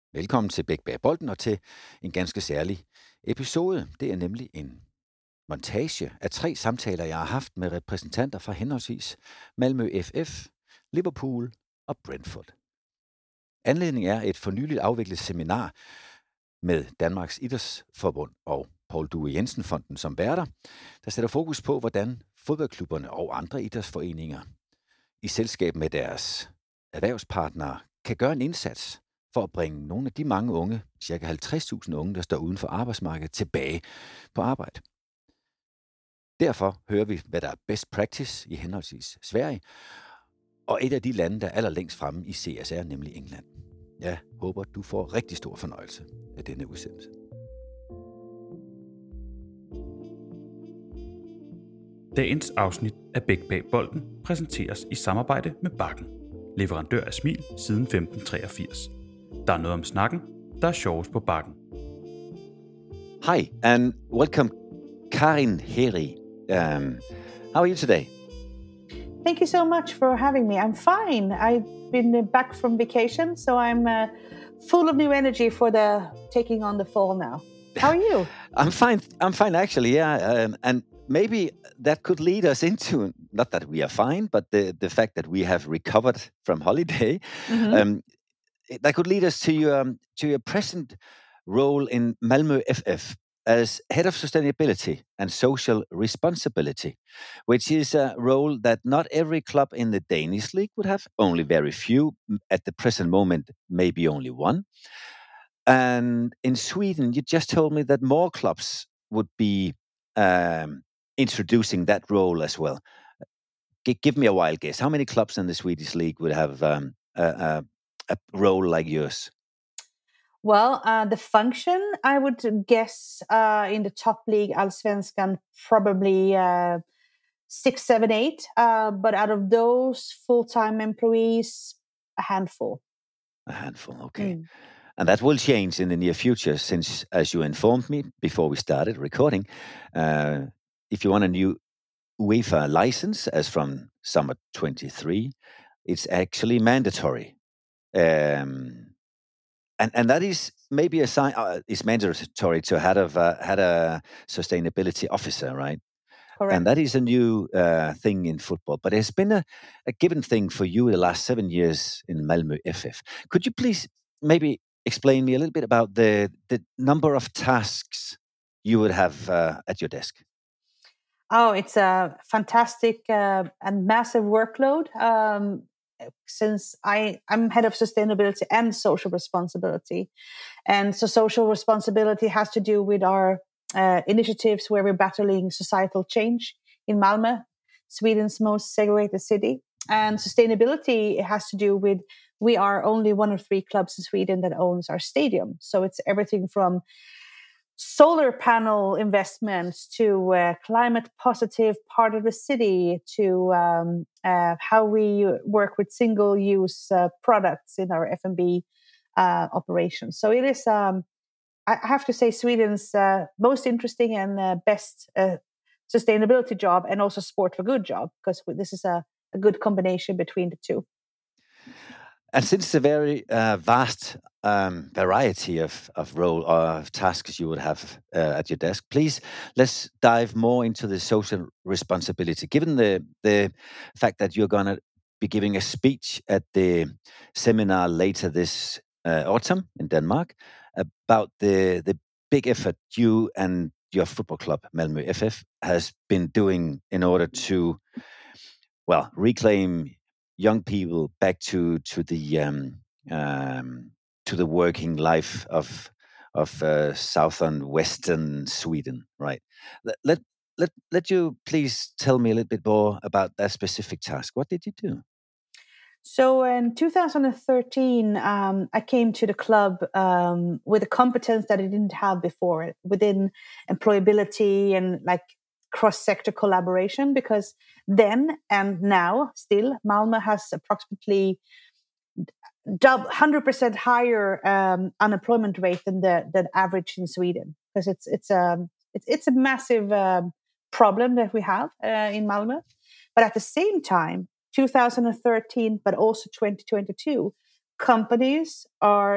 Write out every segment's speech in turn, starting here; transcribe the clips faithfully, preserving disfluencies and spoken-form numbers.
Velkommen til Bæk bag bolden og til en ganske særlig episode. Det er nemlig en montage af tre samtaler, jeg har haft med repræsentanter fra henholdsvis Malmö F F, Liverpool og Brentford. Anledningen er et for nyligt afviklet seminar med Danmarks Idrætsforbund og Poul Due Jensen Fonden som værter, der sætter fokus på, hvordan fodboldklubberne og andre idrætsforeninger i selskab med deres erhvervspartnere kan gøre en indsats for at bringe nogle af de mange unge, ca. halvtreds tusind unge, der står uden for arbejdsmarkedet, tilbage på arbejde. Derfor hører vi, hvad der er best practice i henholdsvis Sverige, og et af de lande, der er allerlængst fremme i C S R, nemlig England. Jeg håber, du får rigtig stor fornøjelse af denne udsendelse. Dagens afsnit af Bæk bag bolden præsenteres i samarbejde med Bakken, leverandør af smil siden femten treogfirs. Der er noget om snakken, der er sjovest på Bakken. Hi, and welcome, Karin Heri. Um, how are you today? Thank you so much for having me. I'm fine. I've been uh, back from vacation, so I'm uh, full of new energy for the taking on the fall now. How are you? I'm fine. I'm fine, actually. Yeah, um, and maybe that could lead us into not that we are fine, but the the fact that we have recovered from holiday. Mm-hmm. Um, that could lead us to your um, to your present role in Malmö F F as head of sustainability and social responsibility, which is a role that not every club in the Danish league would have. Only very few at the present moment, maybe only one. And in Sweden, you just told me that more clubs would be um, introducing that role as well. G- give me a wild guess. How many clubs in the Swedish league would have um, a, a, a role like yours? Well, uh, the function, I would guess, uh, in the top league, Allsvenskan, probably uh, six, seven, eight. Uh, but out of those full-time employees, a handful. A handful, okay. Mm. And that will change in the near future since, as you informed me before we started recording, uh, if you want a new UEFA license, as from summer twenty-three, it's actually mandatory. Um, and and that is maybe a sign. Uh, it's mandatory to have a uh, had a sustainability officer, right? Correct. And that is a new uh, thing in football. But it's been a, a given thing for you the last seven years in Malmö F F. Could you please maybe explain me a little bit about the the number of tasks you would have uh, at your desk? Oh, it's a fantastic uh, and massive workload. Um, since I, I'm head of sustainability and social responsibility. And so social responsibility has to do with our uh, initiatives where we're battling societal change in Malmö, Sweden's most segregated city. And sustainability has to do with we are only one of three clubs in Sweden that owns our stadium. So it's everything from solar panel investments to uh, climate positive part of the city to um, uh, how we work with single use uh, products in our F and B uh, operations. So it is, um, I have to say, Sweden's uh, most interesting and uh, best uh, sustainability job, and also sport for good job, because this is a, a good combination between the two. And since the very uh, vast um, variety of, of role or of tasks you would have uh, at your desk, please let's dive more into the social responsibility. Given the the fact that you're going to be giving a speech at the seminar later this uh, autumn in Denmark about the the big effort you and your football club Malmö F F has been doing in order to, well, reclaim young people back to to the um, um, to the working life of of uh, southern western Sweden, right? Let, let let let you please tell me a little bit more about that specific task. What did you do? So in two thousand thirteen, um, I came to the club um, with a competence that I didn't have before within employability and like cross-sector collaboration, because then and now still Malmö has approximately one hundred percent higher um, unemployment rate than the, the average in Sweden, because it's it's a it's, it's a massive um, problem that we have uh, in Malmö. But at the same time, two thousand thirteen, but also twenty twenty-two, companies are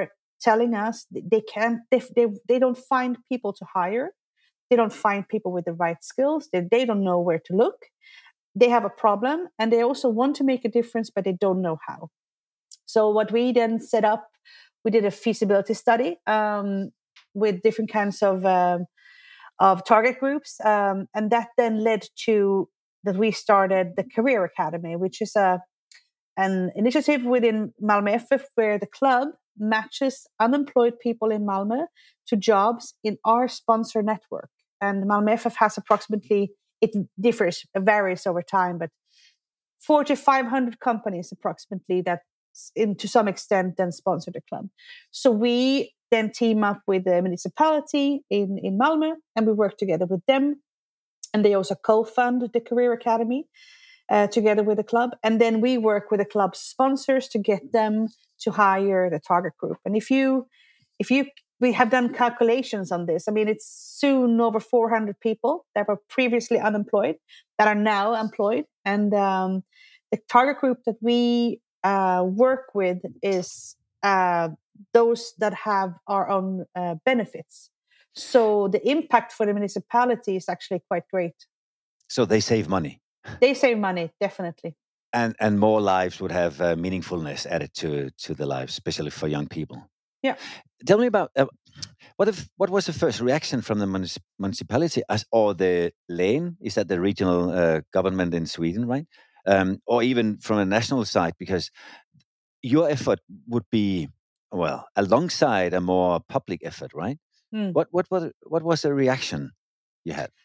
telling us they can't, they, they, they don't find people to hire. They don't find people with the right skills. They, they don't know where to look. They have a problem, and they also want to make a difference, but they don't know how. So what we then set up, we did a feasibility study um, with different kinds of um, of target groups, um, and that then led to that we started the Career Academy, which is a an initiative within Malmö F F where the club matches unemployed people in Malmö to jobs in our sponsor network. And Malmö F F has approximately, it differs, varies over time, but four to five hundred companies approximately that, in to some extent, then sponsor the club. So we then team up with the municipality in, in Malmö, and we work together with them. And they also co-fund the Career Academy uh, together with the club. And then we work with the club sponsors to get them to hire the target group. And if you, if you, we have done calculations on this. I mean, it's soon over four hundred people that were previously unemployed that are now employed. And um, the target group that we uh, work with is uh, those that have our own uh, benefits. So the impact for the municipality is actually quite great. So they save money. They save money, definitely. And and more lives would have uh, meaningfulness added to to the lives, especially for young people. Yeah. Tell me about uh, what if what was the first reaction from the municip- municipality as or the län? Is that the regional uh, government in Sweden, right? Um, or even from a national side, because your effort would be well alongside a more public effort, right? Mm. What what was what was the reaction you had?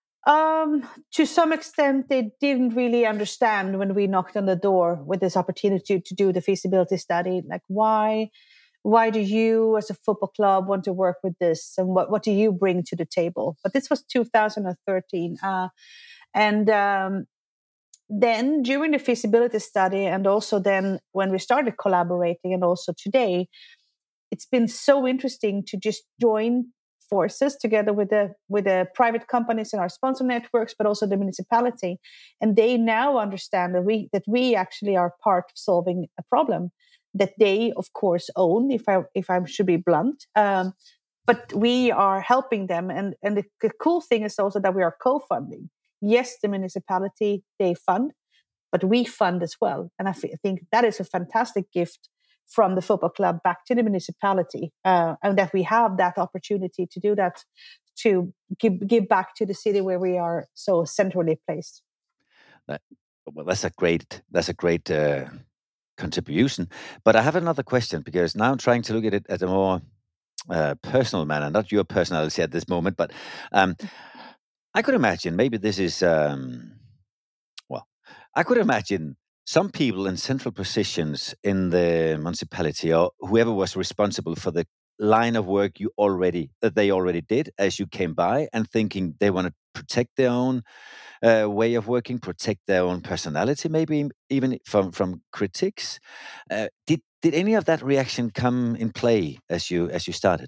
Um, to some extent, they didn't really understand when we knocked on the door with this opportunity to do the feasibility study. Like, why, why do you, as a football club, want to work with this, and what what do you bring to the table? But this was two thousand thirteen, uh, and um, then during the feasibility study, and also then when we started collaborating, and also today, it's been so interesting to just join forces together with the with the private companies in our sponsor networks, but also the municipality, and they now understand that we that we actually are part of solving a problem that they, of course, own. If I if I should be blunt, um, but we are helping them, and and the, the cool thing is also that we are co-funding. Yes, the municipality, they fund, but we fund as well, and I f- think that is a fantastic gift from the football club back to the municipality, uh, and that we have that opportunity to do that, to give, give back to the city where we are so centrally placed. That, well, that's a great that's a great uh, contribution. But I have another question, because now I'm trying to look at it at a more uh, personal manner, not your personality at this moment, but um, I could imagine maybe this is um, well, I could imagine some people in central positions in the municipality, or whoever was responsible for the line of work you already that they already did as you came by, and thinking they want to protect their own uh, way of working, protect their own personality, maybe even from from critics. Uh, did did any of that reaction come in play as you as you started?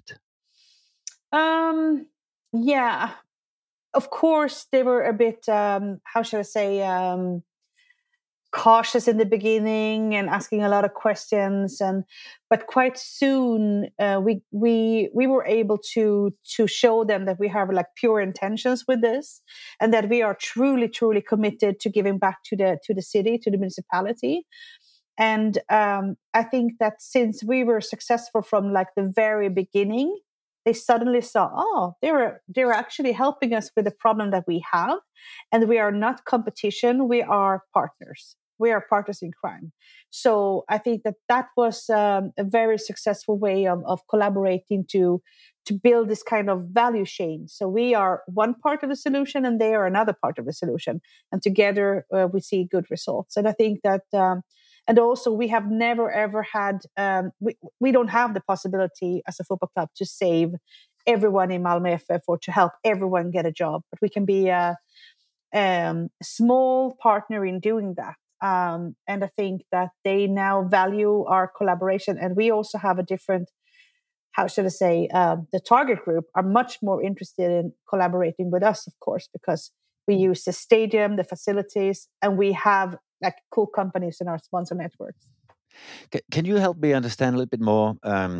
Um, yeah, of course they were a bit. Um, how should I say? Um, cautious in the beginning and asking a lot of questions, and but quite soon uh, we we we were able to to show them that we have like pure intentions with this, and that we are truly truly committed to giving back to the to the city, to the municipality. And um, I think that since we were successful from like the very beginning, they suddenly saw, oh, they're they're actually helping us with the problem that we have, and we are not competition, we are partners. We are partners in crime. So I think that that was um, a very successful way of, of collaborating to to build this kind of value chain. So we are one part of the solution, and they are another part of the solution, and together uh, we see good results. And I think that. Um, And also, we have never, ever had, um, we, we don't have the possibility as a football club to save everyone in Malmö F F or to help everyone get a job. But we can be a, um, small partner in doing that. Um, and I think that they now value our collaboration. And we also have a different, how should I say, uh, the target group are much more interested in collaborating with us, of course, because we use the stadium, the facilities, and we have like cool companies in our sponsor networks. C- can you help me understand a little bit more? Um,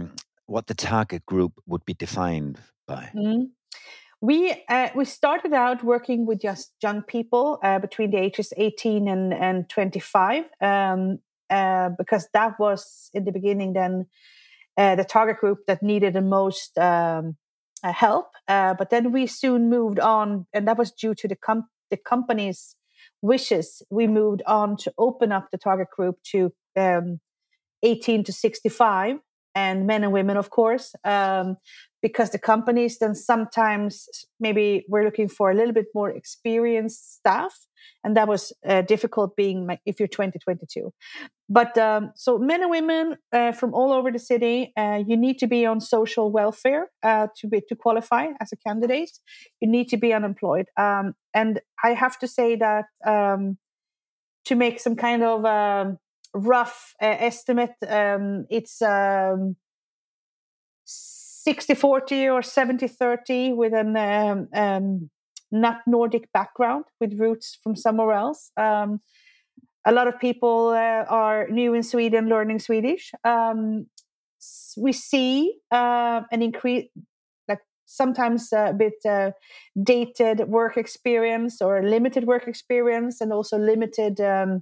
what the target group would be defined by? Mm. We uh, we started out working with just young people uh, between the ages eighteen and, and twenty-five, um, uh, because that was in the beginning then uh, the target group that needed the most um, uh, help. Uh, but then we soon moved on, and that was due to the com- the company's wishes. We moved on to open up the target group to um, eighteen to sixty-five, and men and women, of course, um, because the companies then sometimes maybe we're looking for a little bit more experienced staff, and that was uh, difficult being like, if you're twenty, twenty-two. But um, so men and women uh, from all over the city, uh, you need to be on social welfare uh, to be to qualify as a candidate. You need to be unemployed, um, and I have to say that um, to make some kind of um, rough uh, estimate, um, it's um, sixty forty or seventy thirty with an um, um, not Nordic background with roots from somewhere else. Um, a lot of people uh, are new in Sweden learning Swedish. Um, we see uh, an increase, like sometimes a bit uh, dated work experience or limited work experience, and also limited um,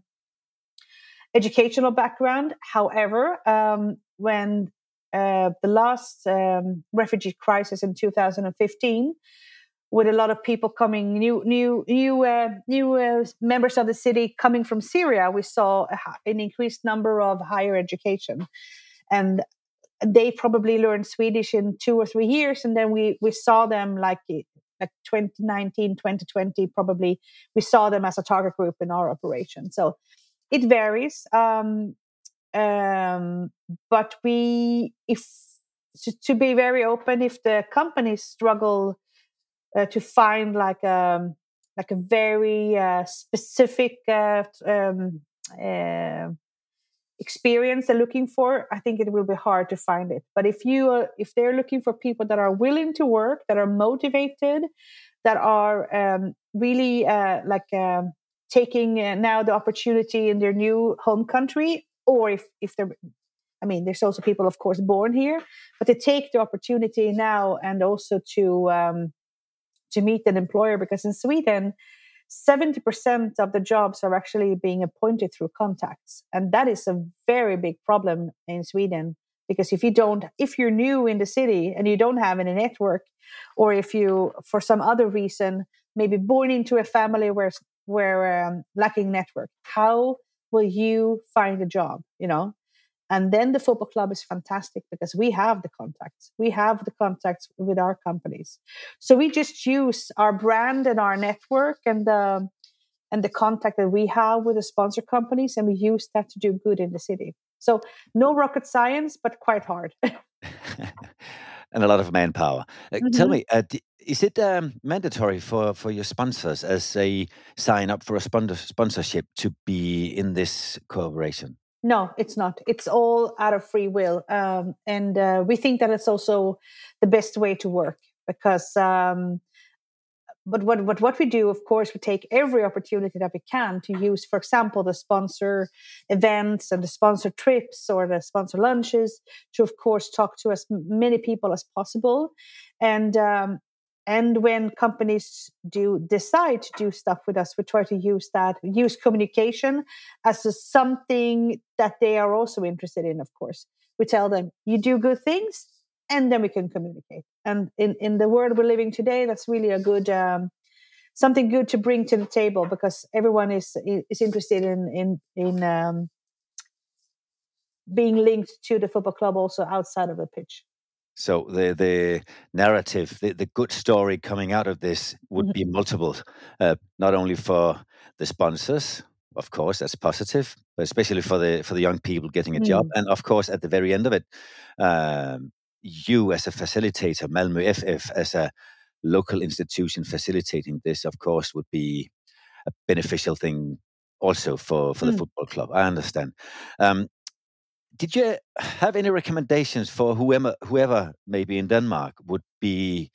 educational background. However, um, when uh, the last um, refugee crisis in two thousand fifteen, with a lot of people coming, new, new, new, uh, new uh, members of the city coming from Syria, we saw a, an increased number of higher education, and they probably learned Swedish in two or three years, and then we we saw them like like twenty nineteen, twenty twenty, probably we saw them as a target group in our operation. So it varies, um, um, but we, if to, to be very open, if the companies struggle uh, to find like a like a very uh, specific uh, um, uh, experience they're looking for, I think it will be hard to find it. But if you uh, if they're looking for people that are willing to work, that are motivated, that are um, really uh, like. Um, taking uh, now the opportunity in their new home country, or if, if they're, I mean, there's also people, of course, born here, but to take the opportunity now and also to um, to meet an employer, because in Sweden, seventy percent of the jobs are actually being appointed through contacts. And that is a very big problem in Sweden, because if you don't, if you're new in the city and you don't have any network, or if you, for some other reason, maybe born into a family where where um, lacking network, how will you find a job, you know? And then the football club is fantastic because we have the contacts. We have the contacts with our companies. So we just use our brand and our network and the, and the contact that we have with the sponsor companies, and we use that to do good in the city. So no rocket science, but quite hard. And a lot of manpower. Uh, Mm-hmm. Tell me, uh, d- is it um, mandatory for, for your sponsors as they sign up for a sponsor- sponsorship to be in this cooperation? No, it's not. It's all out of free will. Um, and uh, we think that it's also the best way to work, because um, but what, what what we do, of course, we take every opportunity that we can to use, for example, the sponsor events and the sponsor trips or the sponsor lunches to, of course, talk to as many people as possible. And um, and when companies do decide to do stuff with us, we try to use that, use communication as a, something that they are also interested in, of course. We tell them, you do good things, and then we can communicate. And in, in the world we're living today, that's really a good, um, something good to bring to the table, because everyone is is interested in, in, in um, being linked to the football club also outside of the pitch. So the the narrative, the, the good story coming out of this would be multiple, uh, not only for the sponsors, of course, that's positive, but especially for the for the young people getting a job, Mm. and of course, at the very end of it, um, you as a facilitator, Malmö F F, as a local institution facilitating this, of course, would be a beneficial thing also for for the Mm. football club. I understand. Um, did you have any recommendations for whoever, whoever maybe in Denmark would be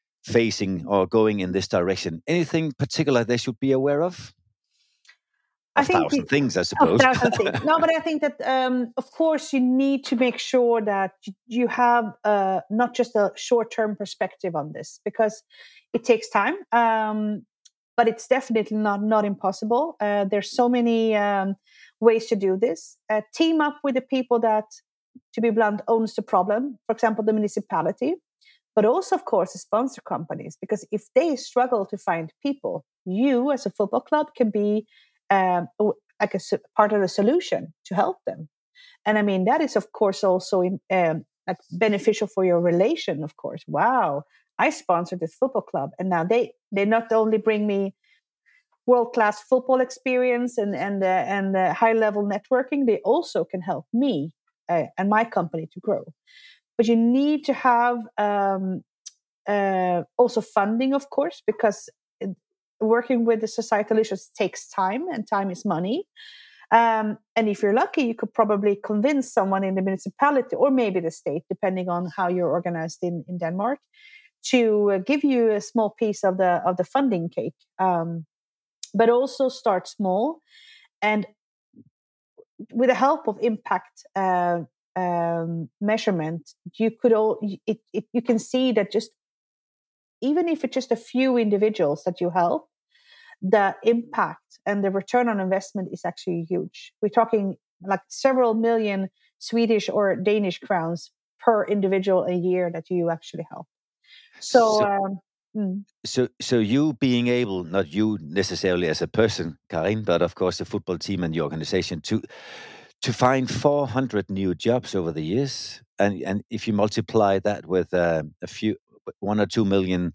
facing or going in this direction? Anything particular they should be aware of? of thousand the, things, I suppose. Of thousand things. No, but I think that, um, of course, you need to make sure that you have uh, not just a short-term perspective on this, because it takes time, um, but it's definitely not, not impossible. Uh, there's so many um, ways to do this. Uh, team up with the people that, to be blunt, owns the problem. For example, the municipality, but also, of course, the sponsor companies, because if they struggle to find people, you as a football club can be um, like a part of the solution to help them. And I mean, that is, of course, also um, like beneficial for your relation, of course. Wow, I sponsored this football club, and now they, they not only bring me world-class football experience and, and, uh, and uh, high-level networking, they also can help me uh, and my company to grow. But you need to have um, uh, also funding, of course, because it, working with the societal issues takes time, and time is money. Um, and if you're lucky, you could probably convince someone in the municipality or maybe the state, depending on how you're organized in, in Denmark, to uh, give you a small piece of the of the funding cake. Um, but also start small, and with the help of impact uh, um, measurement, you could all it, it you can see that just even if it's just a few individuals that you help, the impact and the return on investment is actually huge. We're talking like several million Swedish or Danish crowns per individual a year that you actually help. So, so, um, mm. so, so you being able, not you necessarily as a person, Karin, but of course the football team and the organization, to to find four hundred new jobs over the years, and and if you multiply that with uh, a few, one or two million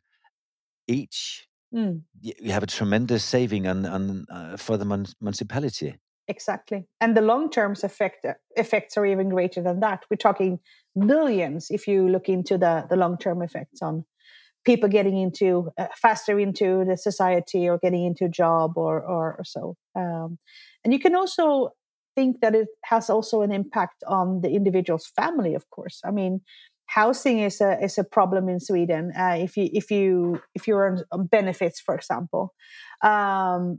each. Mm. You have a tremendous saving on, on uh, for the mun- municipality. Exactly. And the long-term effect, effects are even greater than that. We're talking billions if you look into the, the long-term effects on people getting into uh, faster into the society or getting into a job or, or, or so. Um, and you can also think that it has also an impact on the individual's family, of course. I mean, housing is a is a problem in Sweden. Uh, if you if you if you're on, on benefits, for example, um,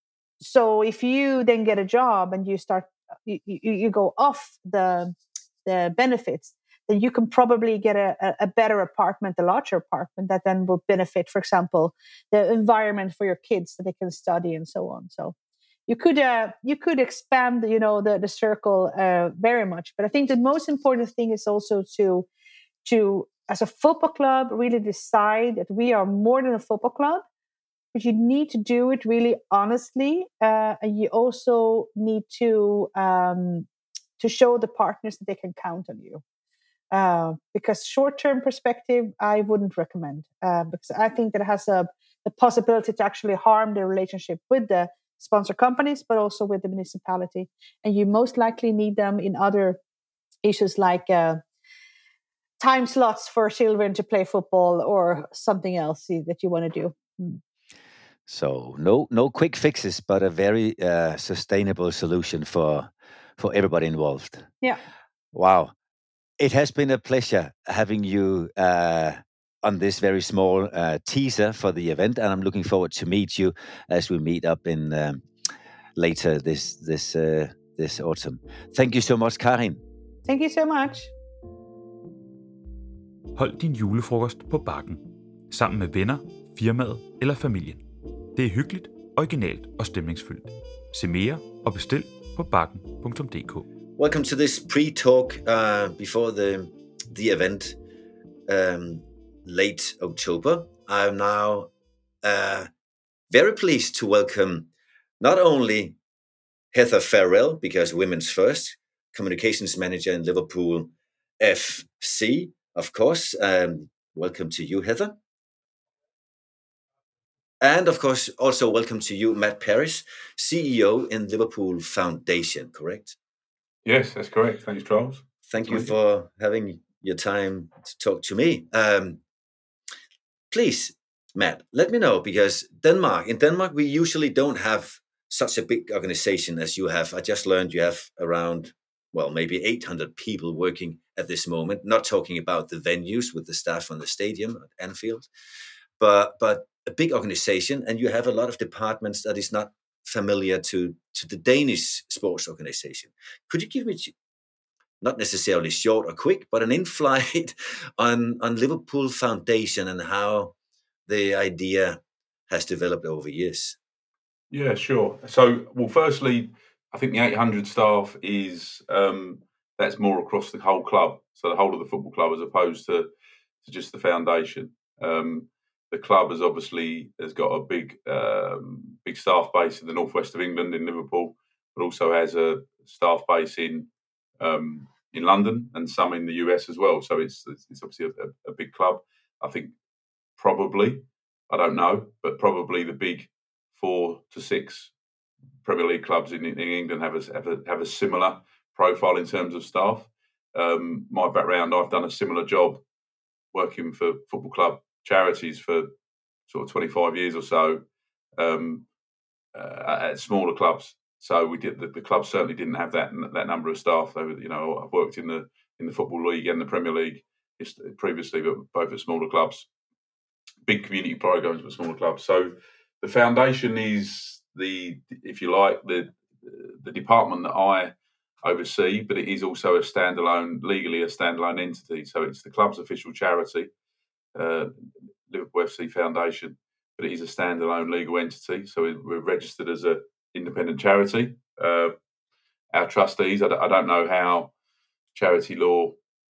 so if you then get a job and you start you, you, you go off the the benefits, then you can probably get a, a better apartment, a larger apartment that then will benefit, for example, the environment for your kids so they can study and so on. So you could uh, you could expand, you know, the the circle uh, very much. But I think the most important thing is also to to, as a football club, really decide that we are more than a football club, but you need to do it really honestly. Uh, and you also need to um, to show the partners that they can count on you. Uh, because short-term perspective, I wouldn't recommend. Uh, because I think that it has a, the possibility to actually harm the relationship with the sponsor companies, but also with the municipality. And you most likely need them in other issues like uh, time slots for children to play football or something else that you want to do. Mm. So no no quick fixes, but a very uh, sustainable solution for for everybody involved. Yeah. Wow. It has been a pleasure having you uh, on this very small uh, teaser for the event, and I'm looking forward to meet you as we meet up in um, later this this uh, this autumn. Thank you so much, Karin. Thank you so much. Hold din julefrokost på Bakken, sammen med venner, firmaet eller familien. Det er hyggeligt, originalt og stemningsfyldt. Se mere og bestil på bakken punktum d k. Welcome to this pre-talk uh, before the the event, um, late October. I'm now uh, very pleased to welcome not only Heather Farrell, because Women's First, Communications Manager in Liverpool F C, of course. Um, welcome to you, Heather. And of course, also welcome to you, Matt Parris, C E O in Liverpool Foundation, correct? Yes, that's correct. Thanks, Charles. Thank you for having your time to talk to me. Um, please, Matt, let me know, because Denmark, in Denmark, we usually don't have such a big organization as you have. I just learned you have around, well, maybe eight hundred people working at this moment, not talking about the venues with the staff on the stadium at Anfield, but, but a big organization, and you have a lot of departments that is not familiar to, to the Danish sports organization. Could you give me, not necessarily short or quick, but an in-flight on, on Liverpool Foundation and how the idea has developed over years? Yeah, sure. So, well, firstly, I think the eight hundred staff is, um, that's more across the whole club. So the whole of the football club as opposed to, to just the foundation. Um, the club has obviously has got a big, um, big staff base in the northwest of England in Liverpool, but also has a staff base in, um, in London and some in the U S as well. So it's, it's obviously a, a big club. I think probably, I don't know, but probably the big four to six Premier League clubs in, in England have a, have a have a similar profile in terms of staff. Um, my background, I've done a similar job working for football club charities for sort of twenty-five years or so um, uh, at smaller clubs. So we did the, the club certainly didn't have that that number of staff. They were, you know, I've worked in the in the Football League and the Premier League previously, but both at smaller clubs, big community programs, but smaller clubs. So the foundation is the, if you like, the the department that I oversee, but it is also a standalone, legally a standalone entity. So it's the club's official charity, uh, Liverpool F C Foundation, but it is a standalone legal entity. So we're registered as an independent charity. Uh, our trustees, I don't know how charity law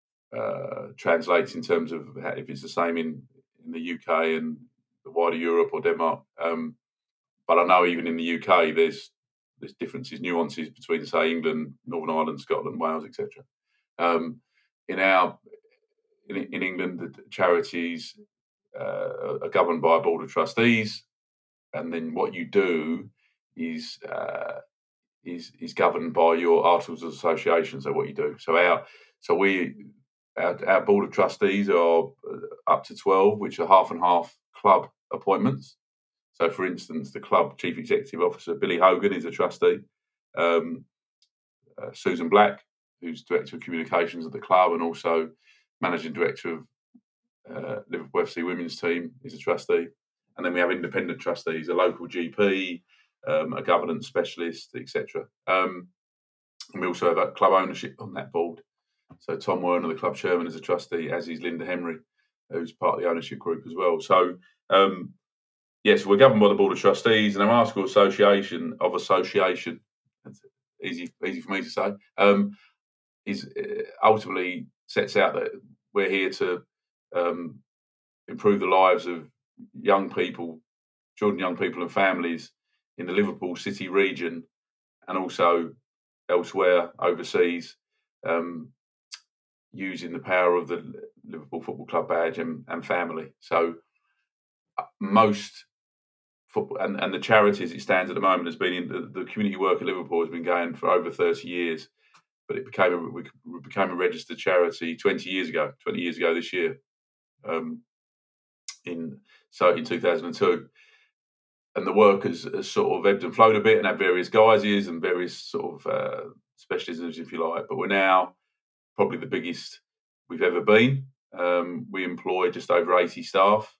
uh, translates in terms of how, if it's the same in, in the U K and the wider Europe or Denmark. Um, but I know even in the U K, there's there's differences, nuances between, say, England, Northern Ireland, Scotland, Wales, et cetera. Um, in our in, in England, the charities uh, are governed by a board of trustees, and then what you do is uh, is is governed by your articles of association. So what you do. So our so we our, our board of trustees are up to twelve, which are half and half club appointments. So, for instance, the club chief executive officer, Billy Hogan, is a trustee. Um, uh, Susan Black, who's director of communications at the club and also managing director of uh, Liverpool F C women's team, is a trustee. And then we have independent trustees, a local G P, um, a governance specialist, et cetera. Um, and we also have a club ownership on that board. So Tom Werner, the club chairman, is a trustee, as is Linda Henry, who's part of the ownership group as well. So, um, yes, we're governed by the Board of Trustees, and our article association of association, that's easy, easy for me to say, um, is uh, ultimately sets out that we're here to um, improve the lives of young people, children, young people and families in the Liverpool City region and also elsewhere overseas, um, using the power of the Liverpool Football Club badge and, and family. So uh, most football and, and the charity as it stands at the moment has been in the, the community work at Liverpool has been going for over thirty years, but it became a, we became a registered charity twenty years ago, twenty years ago this year, um, in so in two thousand two. And the work has, has sort of ebbed and flowed a bit and had various guises and various sort of uh, specialisms, if you like. But we're now probably the biggest we've ever been. Um, we employ just over eighty staff,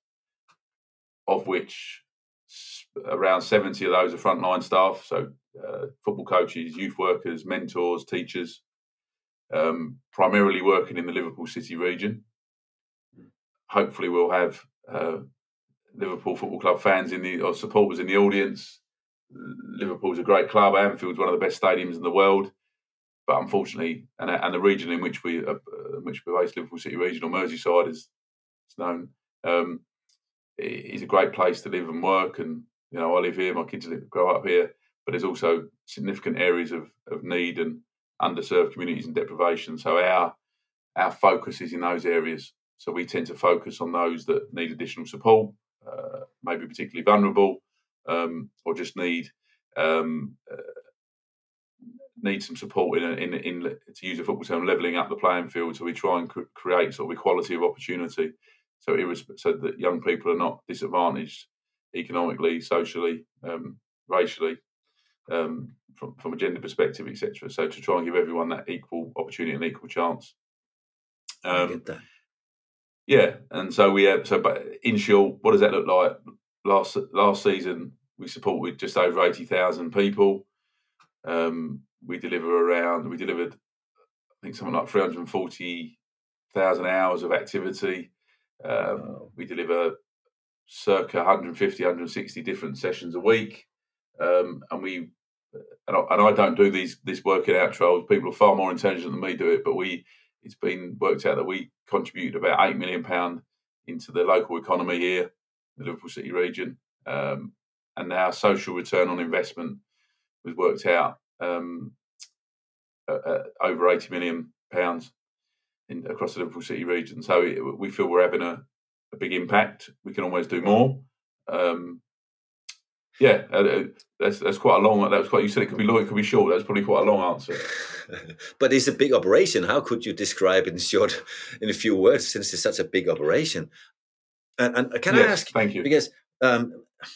of which around seventy of those are frontline staff, so uh, football coaches, youth workers, mentors, teachers, um, primarily working in the Liverpool City region. Hopefully we'll have uh, Liverpool Football Club fans in the or supporters in the audience. Liverpool's a great club. Anfield's one of the best stadiums in the world, but unfortunately, and, and the region in which we uh, in which we're based, Liverpool City region or Merseyside, is it's known. Um, it's a great place to live and work, and you know I live here. My kids live, grow up here, but there's also significant areas of, of need and underserved communities and deprivation. So our our focus is in those areas. So we tend to focus on those that need additional support. Uh, maybe particularly vulnerable, um, or just need um, uh, need some support in, a, in in to use a football term, levelling up the playing field. So we try and cr- create sort of equality of opportunity, so irresp- so that young people are not disadvantaged economically, socially, um, racially, um, from from a gender perspective, et cetera. So to try and give everyone that equal opportunity and equal chance. Um, I get that. Yeah, and so we have. So, but in short, what does that look like? Last last season, we support with just over eighty thousand people. Um, we deliver around, we delivered, I think, something like three hundred forty thousand hours of activity. Um, wow. We deliver circa one hundred fifty, one hundred sixty different sessions a week. Um, and we, and I, and I don't do these this working out trials. People are far more intelligent than me do it, but we, it's been worked out that we contribute about eight million pounds into the local economy here, the Liverpool City region. Um, and our social return on investment was worked out um, at, at over eighty million pounds in, across the Liverpool City region. So it, we feel we're having a, a big impact. We can always do more. Um, yeah, uh, that's that's quite a long. That was quite. You said it could be long, it could be short. That's probably quite a long answer. But it's a big operation. How could you describe it in short, in a few words, since it's such a big operation? And, and can yes, I ask? Thank you. Because um,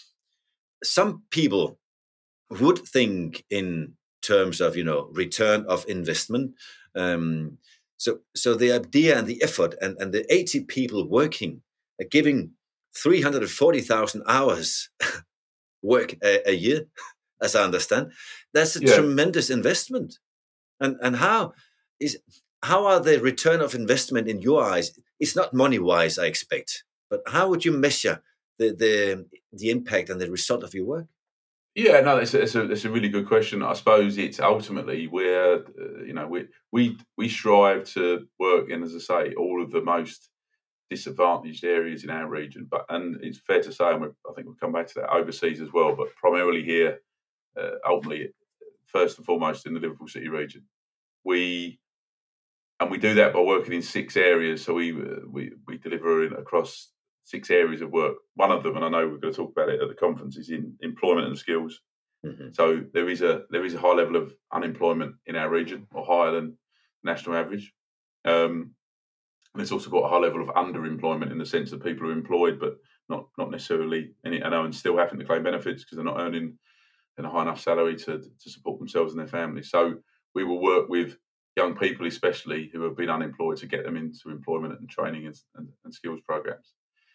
some people would think in terms of, you know, return of investment. Um, so, so the idea and the effort and, and the eighty people working, uh, giving three hundred forty thousand hours work a, a year, as I understand, that's a yeah. tremendous investment. And and how is how are the return of investment in your eyes? It's not money wise, I expect, but how would you measure the the the impact and the result of your work? Yeah, no, it's a, it's a, it's a really good question. I suppose it's ultimately where, uh, you know, we, we, we strive to work in, as I say, all of the most disadvantaged areas in our region. But, and it's fair to say, and we, I think we'll come back to that overseas as well, but primarily here, uh, ultimately, first and foremost in the Liverpool City region. We, and we do that by working in six areas. So we, uh, we, we deliver in, across six areas of work. One of them, and I know we're going to talk about it at the conference, is in employment and skills. Mm-hmm. So there is a there is a high level of unemployment in our region, or higher than national average. Um, and it's also got a high level of underemployment in the sense that people are employed, but not not necessarily any, and are still having to claim benefits because they're not earning a high enough salary to to support themselves and their families. So we will work with young people, especially who have been unemployed, to get them into employment and training and, and, and skills programs.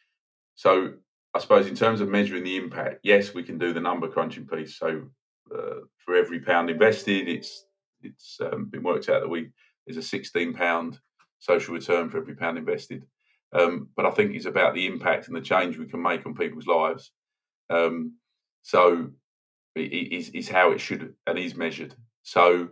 So I suppose in terms of measuring the impact, yes, we can do the number crunching piece. So uh, for every pound invested, it's it's um, been worked out that we there's a sixteen pound social return for every pound invested. Um, but I think it's about the impact and the change we can make on people's lives. Um, so it is is how it should and is measured. So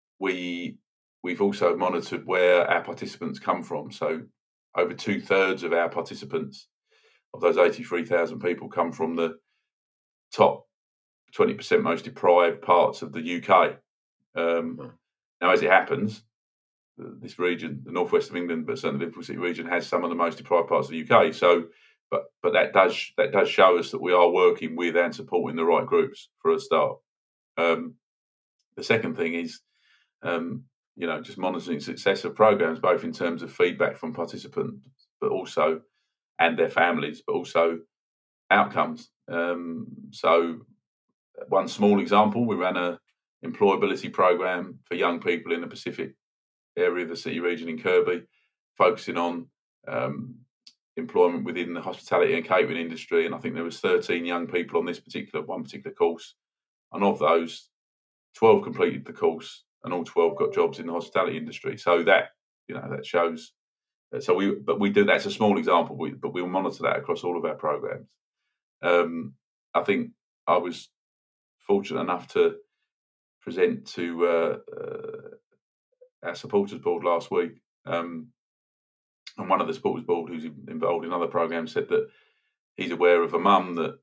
we we've also monitored where our participants come from. So over two thirds of our participants, of those eighty-three thousand people, come from the top twenty percent most deprived parts of the U K. Um, now, as it happens, this region, the northwest of England, but certainly the Liverpool City region, has some of the most deprived parts of the U K. So, but but that does that does show us that we are working with and supporting the right groups for a start. Um, the second thing is, um, you know, just monitoring success of programs, both in terms of feedback from participants, but also and their families, but also outcomes. Um, so one small example, we ran a employability program for young people in the Pacific area of the city region in Kirkby, focusing on um, employment within the hospitality and catering industry. And I think there was thirteen young people on this particular one particular course. And of those, twelve completed the course and all twelve got jobs in the hospitality industry. So that, you know, that shows. So we, but we do. That's a small example, we, but we'll monitor that across all of our programs. Um, I think I was fortunate enough to present to uh, uh, our supporters board last week, um, and one of the supporters board who's involved in other programs said that he's aware of a mum that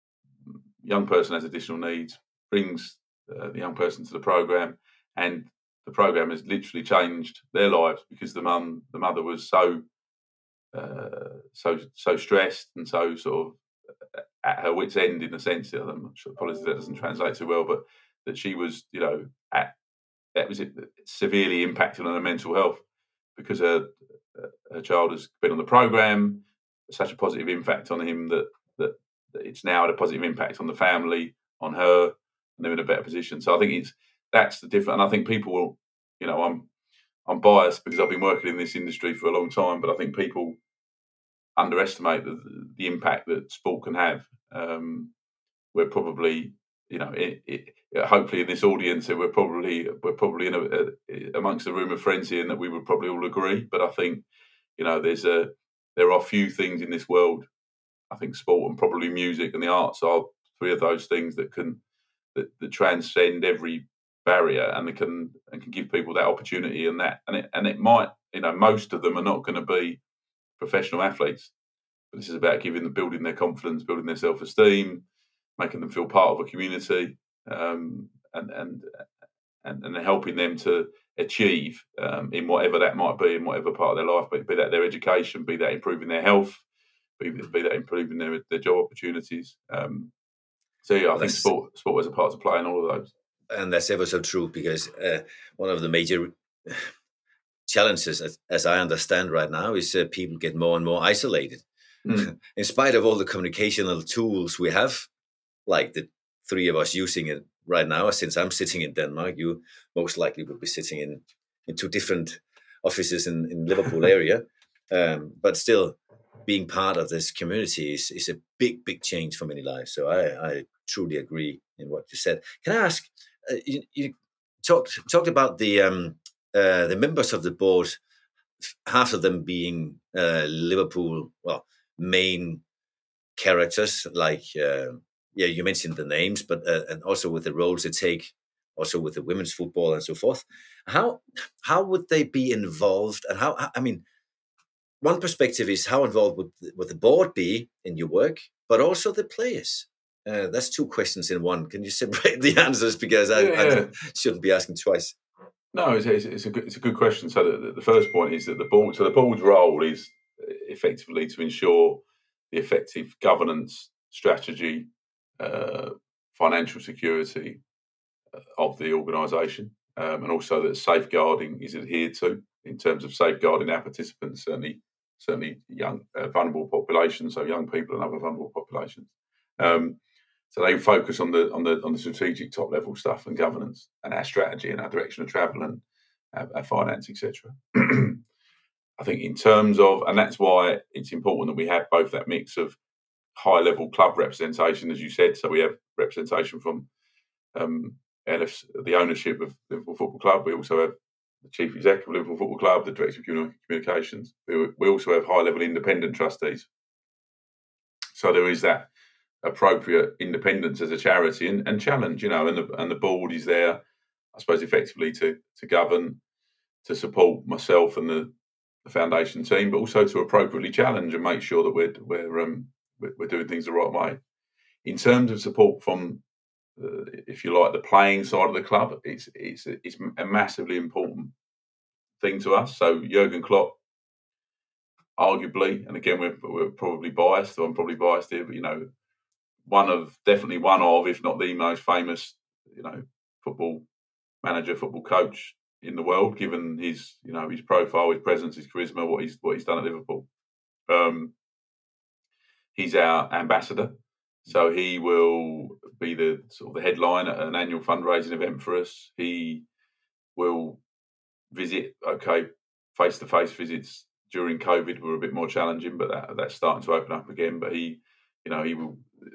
young person has additional needs, brings uh, the young person to the program, and the program has literally changed their lives because the mum, the mother was so, uh, so, so stressed and so sort of at her wit's end in a sense. I'm sure, apologies that doesn't translate so well, but that she was, you know, at that was it, severely impacted on her mental health because her her child has been on the program, such a positive impact on him that that, that it's now had a positive impact on the family, on her, and they're in a better position. So I think it's that's the difference. And I think people will, you know, I'm I'm biased because I've been working in this industry for a long time, but I think people underestimate the, the impact that sport can have. Um, we're probably, you know, it, it, hopefully in this audience, we're probably we're probably in a, a, amongst a room of friends here, and that we would probably all agree. But I think, you know, there's a there are few things in this world. I think sport and probably music and the arts are three of those things that can that, that transcend every barrier, and they can and can give people that opportunity and that and it and it might, you know, most of them are not going to be professional athletes, but this is about giving them, building their confidence, building their self-esteem, making them feel part of a community, um, and and and and helping them to achieve um, in whatever that might be, in whatever part of their life, be, be that their education, be that improving their health, be, be that improving their, their job opportunities. Um, so yeah, I well, think sport sport has a part to play in all of those. And that's ever so true, because uh, one of the major challenges, as, as I understand right now, is uh, people get more and more isolated. Mm. In spite of all the communicational tools we have, like the three of us using it right now, since I'm sitting in Denmark, you most likely would be sitting in, in two different offices in, in Liverpool area. Um, but still, being part of this community is, is a big, big change for many lives. So I, I truly agree in what you said. Can I ask, uh, you, you talked talked about the um, uh, the members of the board, half of them being uh, Liverpool, well, main characters, like, uh, yeah, you mentioned the names, but uh, and also with the roles they take, also with the women's football and so forth. How how would they be involved? And how, I mean, one perspective is how involved would, would the board be in your work, but also the players? Uh, that's two questions in one. Can you separate the answers, because I, yeah, yeah. I shouldn't be asking twice? No, it's, it's, it's a good, it's a good question. So the, the first point is that the board. So the board's role is effectively to ensure the effective governance, strategy, uh, financial security of the organisation, um, and also that safeguarding is adhered to in terms of safeguarding our participants, certainly certainly young uh, vulnerable populations, so young people and other vulnerable populations. Um, so they focus on the on the on the strategic top level stuff and governance and our strategy and our direction of travel and our, our finance, et cetera. I think in terms of, and that's why it's important that we have both that mix of high level club representation, as you said. So we have representation from um, L F's, the ownership of Liverpool Football Club. We also have the chief executive of Liverpool Football Club, the director of communications. We, we also have high level independent trustees. So there is that appropriate independence as a charity and, and challenge, you know, and the and the board is there, I suppose, effectively to to govern, to support myself and the, the foundation team, but also to appropriately challenge and make sure that we're we're um we're, we're doing things the right way. In terms of support from, uh, if you like, the playing side of the club, it's it's it's a massively important thing to us. So Jurgen Klopp, arguably, and again we're we're probably biased, or I'm probably biased here, but you know, one of definitely one of, if not the most famous, you know, football manager, football coach in the world, given his, you know, his profile, his presence, his charisma, what he's what he's done at Liverpool. Um, he's our ambassador, so he will be the sort of the headline at an annual fundraising event for us. He will visit, okay, face-to-face visits during COVID were a bit more challenging, but that, that's starting to open up again. But he, you know, he will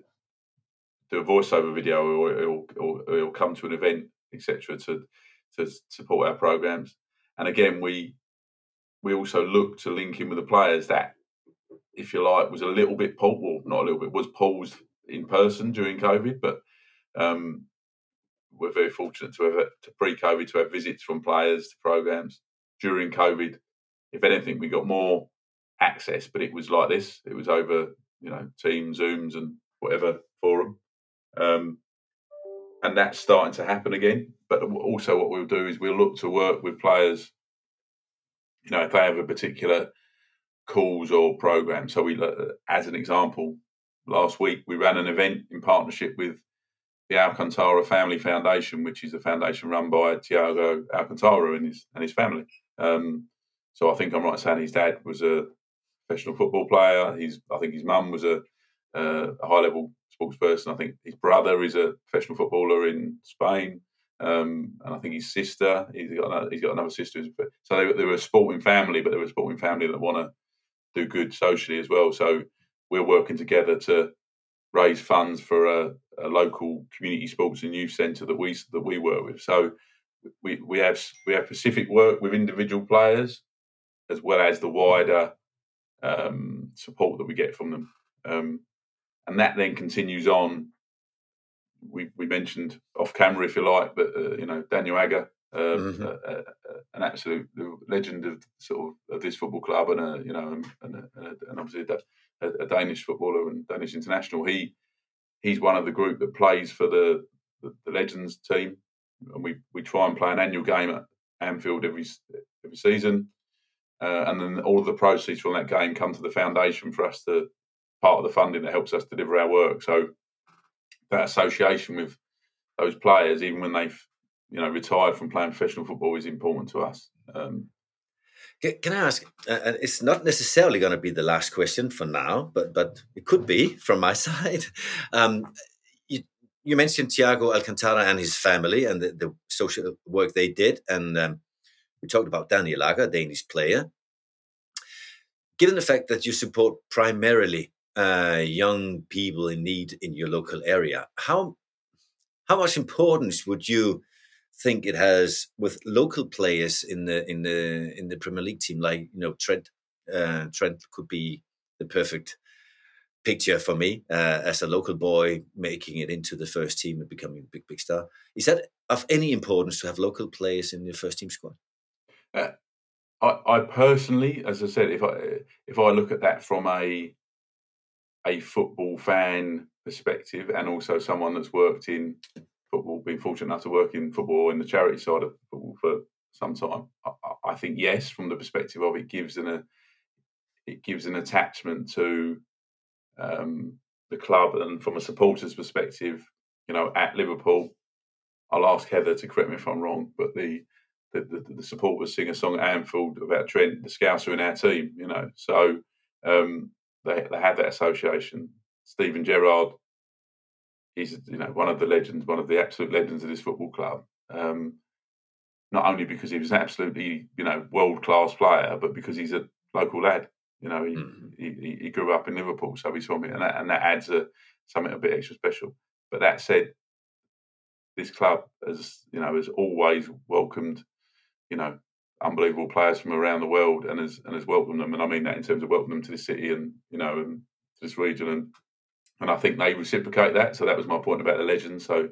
do a voiceover video, or he'll, or he'll come to an event, et cetera, to to support our programs. And again, we we also look to link in with the players that, if you like, was a little bit paused, well, not a little bit, was paused in person during COVID, but um, we're very fortunate to have, to pre-COVID, to have visits from players to programs. During COVID, if anything, we got more access, but it was like this. It was over, you know, Teams, Zooms and whatever forum. Um, and that's starting to happen again. But also what we'll do is we'll look to work with players, you know, if they have a particular cause or program. So we, as an example, last week we ran an event in partnership with the Alcantara Family Foundation, which is a foundation run by Thiago Alcantara and his and his family. Um, so I think I'm right in saying his dad was a professional football player. He's, I think his mum was a, uh, a high-level sports person. I think his brother is a professional footballer in Spain, um, and I think his sister, he's got another, he's got another sister. So they, they were a sporting family, but they were a sporting family that want to do good socially as well. So we're working together to raise funds for a, a local community sports and youth centre that we that we work with. So we we have we have specific work with individual players, as well as the wider um, support that we get from them, um, and that then continues on. We we mentioned off camera, if you like, but uh, you know Daniel Agger, uh, mm-hmm. uh, uh, an absolute legend of sort of, of this football club, and a you know and, and, a, and obviously a, a Danish footballer and Danish international. He he's one of the group that plays for the the, the Legends team, and we, we try and play an annual game at Anfield every every season, uh, and then all of the proceeds from that game come to the foundation for us to part of the funding that helps us deliver our work. So that association with those players, even when they've you know retired from playing professional football, is important to us. Um, can, can I ask? Uh, it's not necessarily going to be the last question for now, but but it could be from my side. Um, you, you mentioned Thiago Alcantara and his family and the, the social work they did, and um, we talked about Daniel Agger, Danish player. Given the fact that you support primarily uh, young people in need in your local area, how how much importance would you think it has with local players in the in the in the Premier League team? Like you know, Trent uh, Trent could be the perfect picture for me uh, as a local boy making it into the first team and becoming a big big star. Is that of any importance to have local players in your first team squad? Uh, I, I personally, as I said, if I if I look at that from a a football fan perspective, and also someone that's worked in football, been fortunate enough to work in football in the charity side of football for some time, I, I think yes, from the perspective of it gives an a, it gives an attachment to um, the club, and from a supporter's perspective, you know, at Liverpool, I'll ask Heather to correct me if I'm wrong, but the the, the, the supporters sing a song at Anfield about Trent, the Scouser in our team, you know, so um, they they have that association. Steven Gerrard, he's you know one of the legends, one of the absolute legends of this football club. Um, not only because he was an absolutely you know world class player, but because he's a local lad. You know, he, mm. he he grew up in Liverpool, so he's from it, and that and that adds a something a bit extra special. But that said, this club has you know has always welcomed you know unbelievable players from around the world, and has and has welcomed them, and I mean that in terms of welcoming them to this city and you know and to this region, and and I think they reciprocate that. So that was my point about the legends. So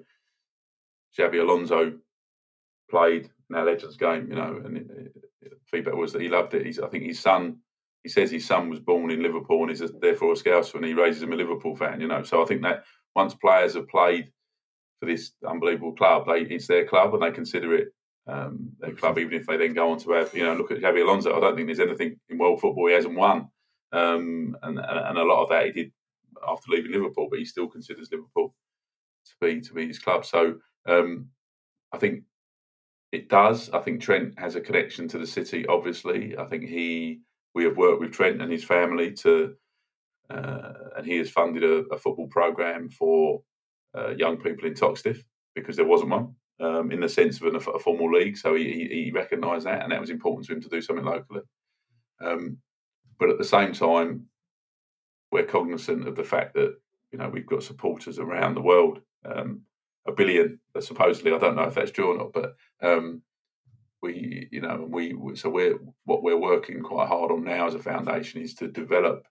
Xabi Alonso played in our Legends game, you know, and it, it, feedback was that he loved it. He's, I think his son, he says his son was born in Liverpool and is therefore a Scouser, and he raises him a Liverpool fan, you know. So I think that once players have played for this unbelievable club, they, it's their club and they consider it um, their club, even if they then go on to have, you know, look at Xabi Alonso. I don't think there's anything in world football he hasn't won. Um, and, and a lot of that he did after leaving Liverpool, but he still considers Liverpool to be to be his club. So um, I think it does. I think Trent has a connection to the city. Obviously, I think he we have worked with Trent and his family to, uh, and he has funded a, a football program for uh, young people in Toxteth because there wasn't one um, in the sense of an, a formal league. So he, he, he recognised that, and that was important to him to do something locally. Um, but at the same time, we're cognizant of the fact that you know we've got supporters around the world, um, a billion supposedly. I don't know if that's true or not, but um, we, you know, we so we're what we're working quite hard on now as a foundation is to develop,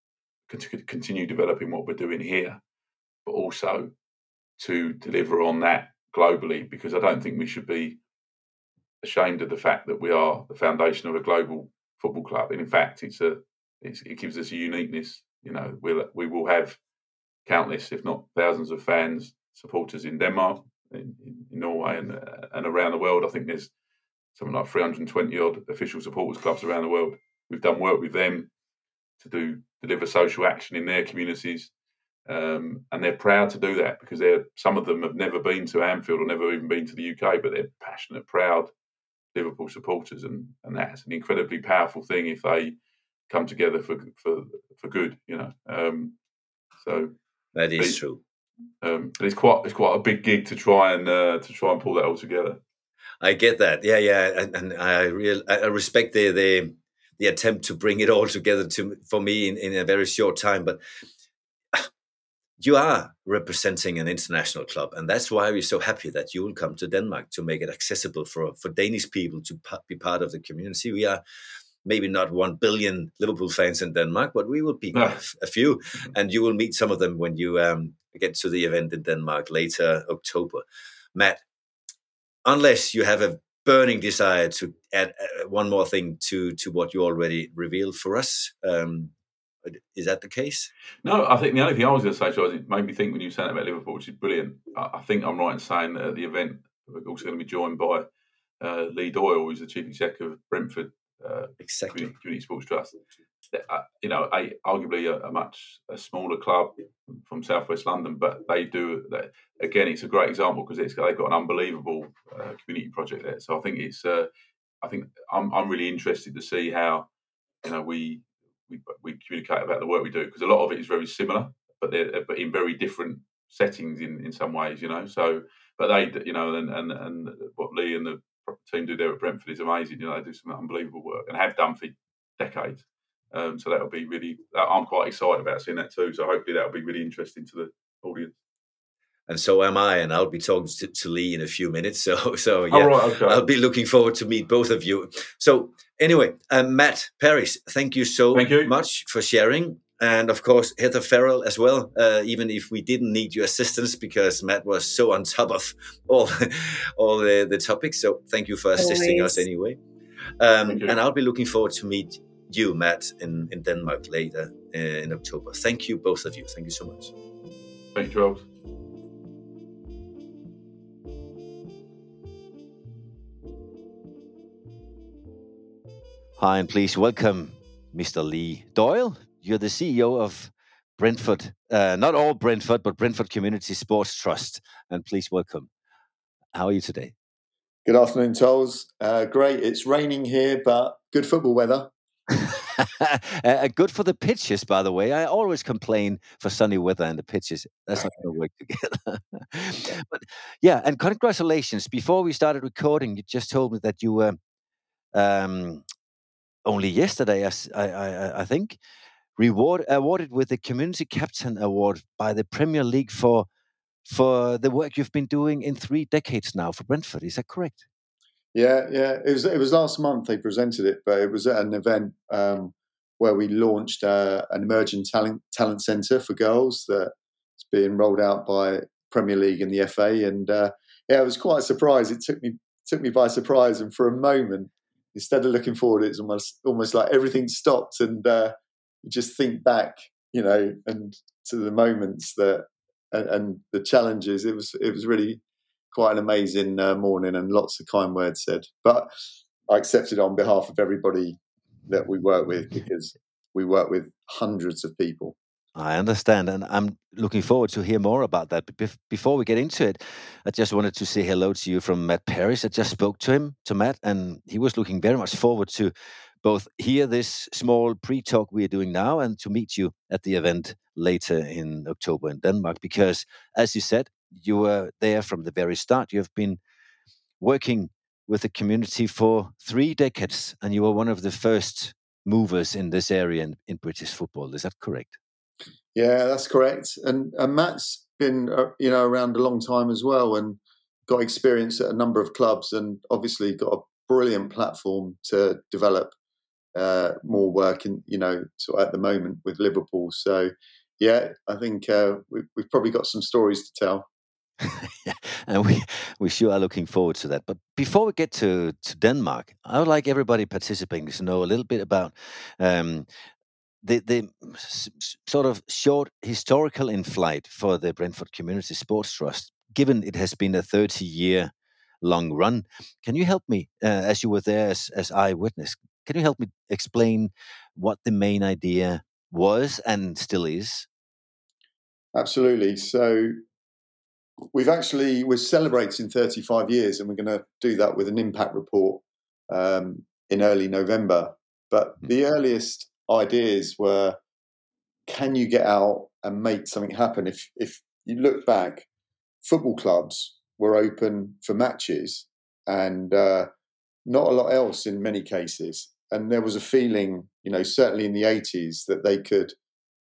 continue developing what we're doing here, but also to deliver on that globally. Because I don't think we should be ashamed of the fact that we are the foundation of a global football club, and in fact, it's a it's, it gives us a uniqueness. You know, we'll, we will have countless, if not thousands, of fans, supporters in Denmark, in, in Norway, and uh, and around the world. I think there's something like three hundred twenty odd official supporters clubs around the world. We've done work with them to do deliver social action in their communities, um, and they're proud to do that because they're some of them have never been to Anfield or never even been to the U K, but they're passionate, proud Liverpool supporters, and and that's an incredibly powerful thing if they come together for for for good, you know. Um, so that is true. Um, but it's quite it's quite a big gig to try and uh, to try and pull that all together. I get that, yeah, yeah, and, and I real I respect the the the attempt to bring it all together to for me in, in a very short time. But you are representing an international club, and that's why we're so happy that you will come to Denmark to make it accessible for, for Danish people to be part of the community. We are maybe not one billion Liverpool fans in Denmark, but we will be No. a, a few, and you will meet some of them when you um, get to the event in Denmark later October. Matt, unless you have a burning desire to add uh, one more thing to, to what you already revealed for us, um, is that the case? No, I think the only thing I was going to say, Charles, it made me think when you were saying about Liverpool, which is brilliant. I, I think I'm right in saying that at the event, we're also going to be joined by uh, Lee Doyle, who's the chief executive of Brentford uh, exactly. Community, Community Sports Trust. Uh, you know, a, arguably a, a much a smaller club from southwest London, but they do that. Again, it's a great example because it's they've got an unbelievable uh, community project there. So I think it's. Uh, I think I'm I'm really interested to see how you know we. We, we communicate about the work we do because a lot of it is very similar, but they're but in very different settings in, in some ways, you know. So, but they, you know, and, and and what Lee and the team do there at Brentford is amazing. You know, they do some unbelievable work and have done for decades. Um, so that'll be really. I'm quite excited about seeing that too. So hopefully that'll be really interesting to the audience. And so am I, and I'll be talking to, to Lee in a few minutes. So, so yeah, oh, right, okay. I'll be looking forward to meet both of you. So, anyway, um, Matt Parris, thank you so thank you. much for sharing, and of course Heather Farrell as well. Uh, even if we didn't need your assistance because Matt was so on top of all all the, the topics, so thank you for assisting Always. us anyway. Um, Thank you. and I'll be looking forward to meet you, Matt, in, in Denmark later uh, in October. Thank you, both of you. Thank you so much. Thank you, Charles. Hi, and please welcome Mister Lee Doyle. You're the C E O of Brentford, uh, not all Brentford, but Brentford Community Sports Trust. And please welcome. How are you today? Good afternoon, Charles. Uh, great. It's raining here, but good football weather. uh, good for the pitches, by the way. I always complain for sunny weather and the pitches. That's not going to work together. But yeah, and congratulations. Before we started recording, you just told me that you were um, only yesterday, I, I, I think, reward awarded with the Community Captain Award by the Premier League for for the work you've been doing in three decades now for Brentford. Is that correct? Yeah, yeah. It was it was last month they presented it, but it was at an event um, where we launched uh, an emerging talent talent centre for girls that's being rolled out by Premier League and the F A. And uh, yeah, it was quite a surprise. It took me took me by surprise, and for a moment, instead of looking forward, it's almost almost like everything stopped, and uh, you just think back, you know, and to the moments that and, and the challenges. It was it was really quite an amazing uh, morning, and lots of kind words said. But I accepted on behalf of everybody that we work with, because we work with hundreds of people. I understand, and I'm looking forward to hear more about that. But bef- before we get into it, I just wanted to say hello to you from Matt Parris. I just spoke to him, to Matt, and he was looking very much forward to both hear this small pre-talk we are doing now and to meet you at the event later in October in Denmark. Because, as you said, you were there from the very start. You have been working with the community for three decades, and you were one of the first movers in this area in, in British football. Is that correct? Yeah, that's correct. And, and Matt's been, uh, you know, around a long time as well, and got experience at a number of clubs, and obviously got a brilliant platform to develop uh, more work in, you know, so at the moment with Liverpool. So, yeah, I think uh, we, we've probably got some stories to tell. And we, we sure are looking forward to that. But before we get to, to Denmark, I would like everybody participating to know a little bit about um, the the s- s- sort of short historical in flight for the Brentford Community Sports Trust, given it has been a thirty-year long run. Can you help me, uh, as you were there as, as eyewitness, can you help me explain what the main idea was and still is? Absolutely. So we've actually, we're celebrating thirty-five years, and we're going to do that with an impact report um, in early November. But the earliest ideas were, can you get out and make something happen? If if you look back, football clubs were open for matches and uh, not a lot else in many cases. And there was a feeling, you know, certainly in the eighties, that they could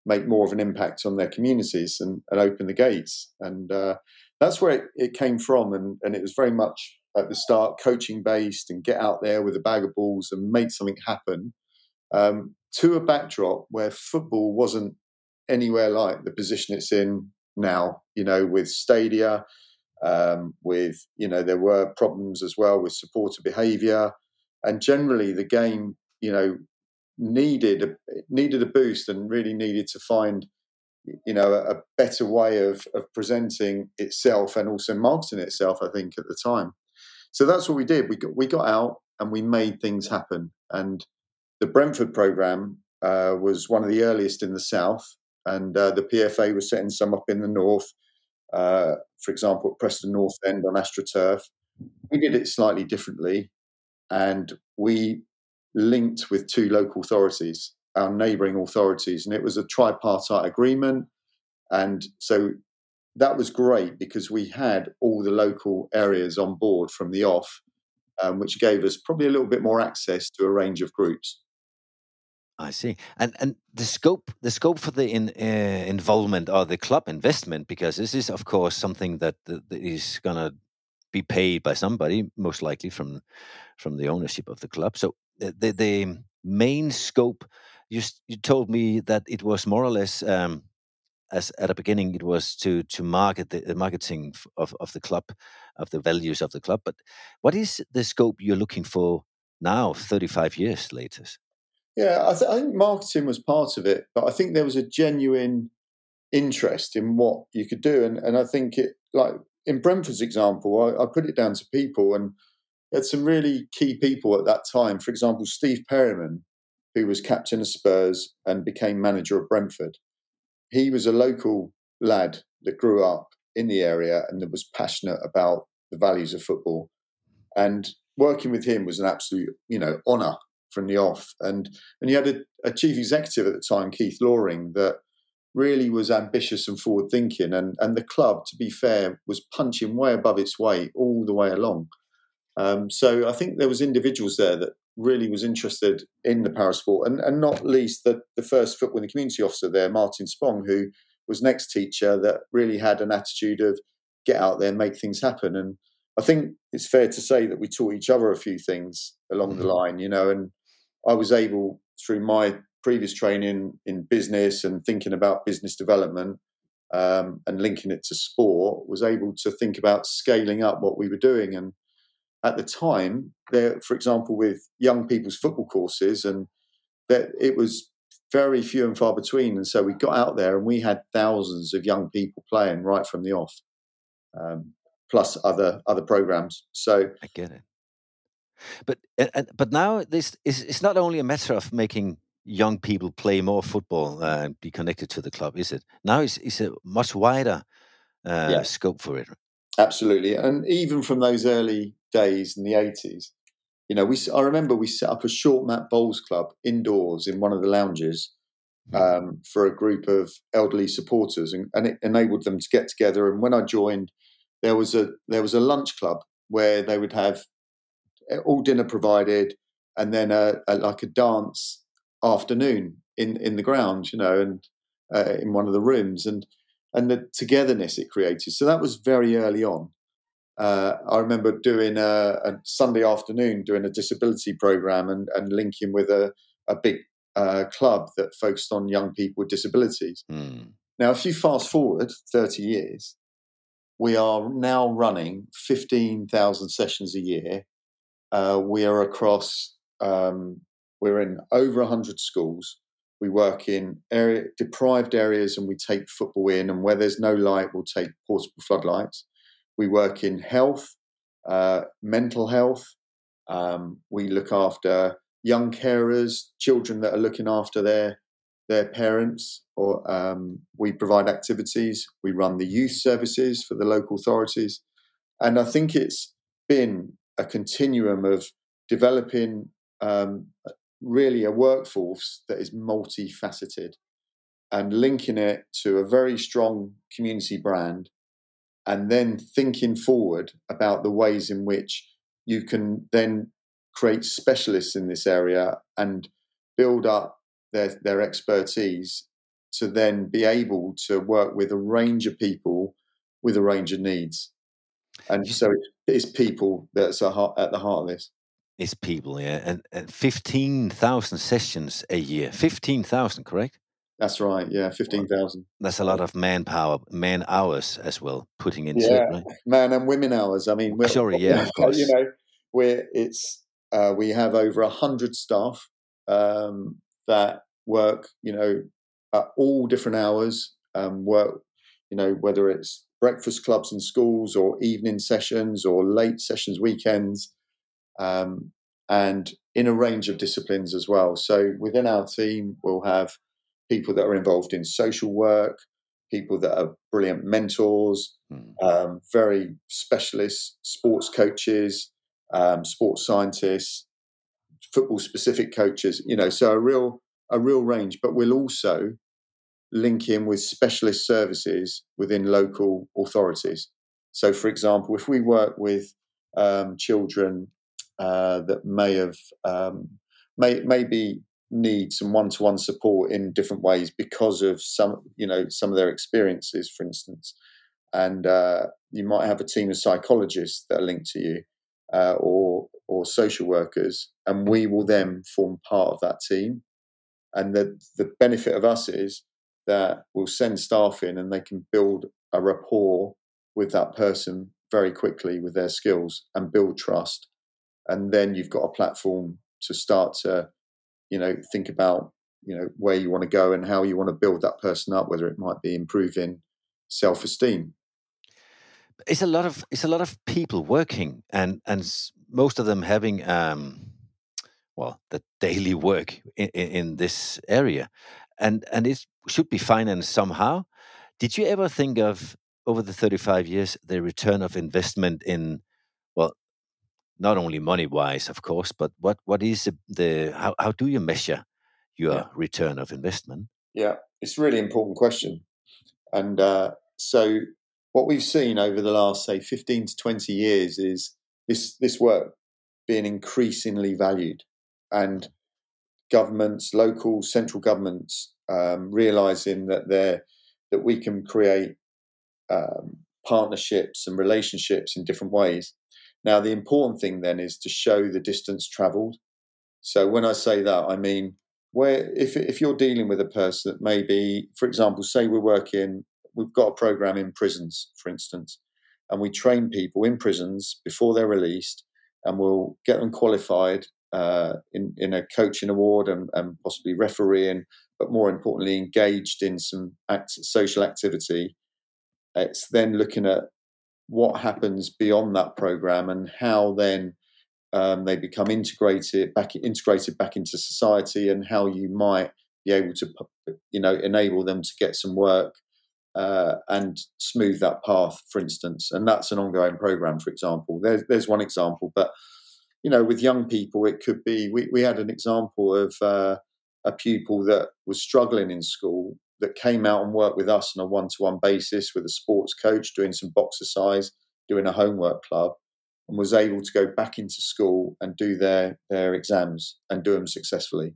make more of an impact on their communities and, and open the gates. And uh, that's where it, it came from. And, and it was very much at the start coaching based and get out there with a bag of balls and make something happen, um, to a backdrop where football wasn't anywhere like the position it's in now, you know, with stadia, um, with, you know, there were problems as well with supporter behaviour. And generally the game, you know, needed a, needed a boost and really needed to find, you know, a, a better way of, of presenting itself and also marketing itself, I think, at the time. So that's what we did. We got, we got out and we made things happen. And the Brentford programme uh, was one of the earliest in the south, and uh, the P F A was setting some up in the north, uh, for example, at Preston North End on AstroTurf. We did it slightly differently, and we linked with two local authorities, our neighbouring authorities, and it was a tripartite agreement. And so that was great because we had all the local areas on board from the off, um, which gave us probably a little bit more access to a range of groups. I see. And and the scope the scope for the in, uh, involvement or the club investment, because this is of course something that, that is going to be paid by somebody, most likely from from the ownership of the club. So uh, the the main scope, you you told me that it was more or less, um, as at the beginning, it was to to market the, the marketing of of the club, of the values of the club. But what is the scope you're looking for now, thirty-five years later? Yeah, I, th- I think marketing was part of it, but I think there was a genuine interest in what you could do. And, and I think it, like in Brentford's example, I, I put it down to people, and had some really key people at that time. For example, Steve Perryman, who was captain of Spurs and became manager of Brentford. He was a local lad that grew up in the area and that was passionate about the values of football. And working with him was an absolute, you know, honour from the off. And and you had a, a chief executive at the time, Keith Loring, that really was ambitious and forward thinking. And, and the club, to be fair, was punching way above its weight all the way along. Um, so I think there was individuals there that really was interested in the parasport, and, and not least the, the first football in the community officer there, Martin Spong, who was next teacher, that really had an attitude of get out there, make things happen. And I think it's fair to say that we taught each other a few things along the line, you know, and I was able, through my previous training in business and thinking about business development um, and linking it to sport, was able to think about scaling up what we were doing. And at the time, there, for example, with young people's football courses, and that it was very few and far between. And so we got out there and we had thousands of young people playing right from the off, um, plus other other programs. So I get it. But uh, but now this is it's not only a matter of making young people play more football uh, and be connected to the club, is it? Now it's, it's a much wider uh, yeah. scope for it. Absolutely. And even from those early days in the eighties, you know, we I remember we set up a short mat bowls club indoors in one of the lounges um, for a group of elderly supporters, and, and it enabled them to get together. And when I joined, there was a there was a lunch club where they would have all dinner provided, and then a, a like a dance afternoon in, in the ground, you know, and uh, in one of the rooms, and and the togetherness it created. So that was very early on. Uh, I remember doing a, a Sunday afternoon, doing a disability program and, and linking with a, a big uh, club that focused on young people with disabilities. Mm. Now, if you fast forward thirty years, we are now running fifteen thousand sessions a year. Uh, we are across, um, we're in over one hundred schools. We work in area, deprived areas, and we take football in, and where there's no light, we'll take portable floodlights. We work in health, uh, mental health. Um, we look after young carers, children that are looking after their their parents, or um, we provide activities. We run the youth services for the local authorities. And I think it's been a continuum of developing um, really a workforce that is multifaceted and linking it to a very strong community brand, and then thinking forward about the ways in which you can then create specialists in this area and build up their, their expertise to then be able to work with a range of people with a range of needs. And so it's people that's at the heart of this. It's people, yeah. And, and fifteen thousand sessions a year. fifteen thousand, correct? That's right, yeah, fifteen thousand. That's a lot of manpower, man hours as well, putting into yeah, it, right? Man and women hours. I mean, we're, sorry, yeah, of course. You know, we're it's uh, we have over a hundred staff um, that work, you know, at all different hours. Um, work, you know, whether it's breakfast clubs in schools or evening sessions or late sessions, weekends, um, and in a range of disciplines as well. So within our team, we'll have people that are involved in social work, people that are brilliant mentors, mm. um, very specialist sports coaches, um, sports scientists, football-specific coaches. You know, so a real a real range. But we'll also link in with specialist services within local authorities. So, for example, if we work with um, children uh, that may have um, may maybe need some one-to-one support in different ways because of some, you know, some of their experiences, for instance, and uh, you might have a team of psychologists that are linked to you, uh, or or social workers, and we will then form part of that team. And the the benefit of us is that we'll send staff in and they can build a rapport with that person very quickly with their skills and build trust. And then you've got a platform to start to, you know, think about, you know, where you want to go and how you want to build that person up, whether it might be improving self-esteem. It's a lot of it's a lot of people working, and and most of them having um, well, the daily work in, in this area, and and it should be financed somehow. Did you ever think of, over the thirty-five years, the return of investment in, well, not only money wise, of course, but what what is the, the how how do you measure your yeah. return of investment? Yeah, it's a really important question, and uh, so. What we've seen over the last, say, fifteen to twenty years is this this work being increasingly valued, and governments, local, central governments, um, realising that they're that we can create um, partnerships and relationships in different ways. Now, the important thing then is to show the distance travelled. So when I say that, I mean where if if you're dealing with a person that maybe, for example, say we're working. We've got a program in prisons, for instance, and we train people in prisons before they're released, and we'll get them qualified uh, in, in a coaching award and, and possibly refereeing, but more importantly, engaged in some act, social activity. It's then looking at what happens beyond that program and how then um, they become integrated back, integrated back into society, and how you might be able to, you know, enable them to get some work. Uh, and smooth that path, for instance, and that's an ongoing program. For example, there's there's one example, but you know, with young people, it could be. We we had an example of uh, a pupil that was struggling in school that came out and worked with us on a one-to-one basis with a sports coach, doing some boxercise, doing a homework club, and was able to go back into school and do their their exams and do them successfully.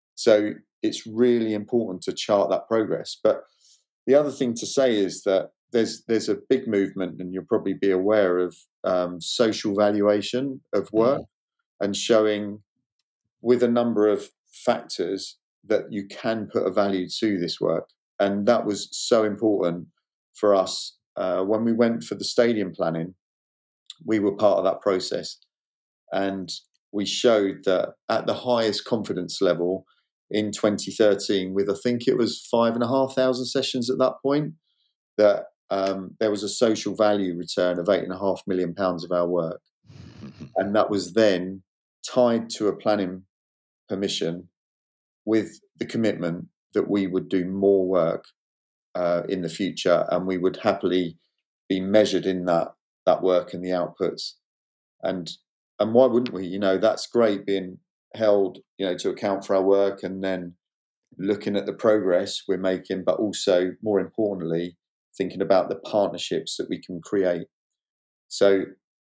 So it's really important to chart that progress, but. The other thing to say is that there's there's a big movement, and you'll probably be aware of um, social valuation of work, mm-hmm. and showing with a number of factors that you can put a value to this work. And that was so important for us. Uh, when we went for the stadium planning, we were part of that process. And we showed that at the highest confidence level, in twenty thirteen, with I think it was five and a half thousand sessions at that point, that um, there was a social value return of eight and a half million pounds of our work, and that was then tied to a planning permission with the commitment that we would do more work uh, in the future, and we would happily be measured in that that work and the outputs. And and why wouldn't we? You know, that's great being held, you know, to account for our work, and then looking at the progress we're making, but also more importantly, thinking about the partnerships that we can create. So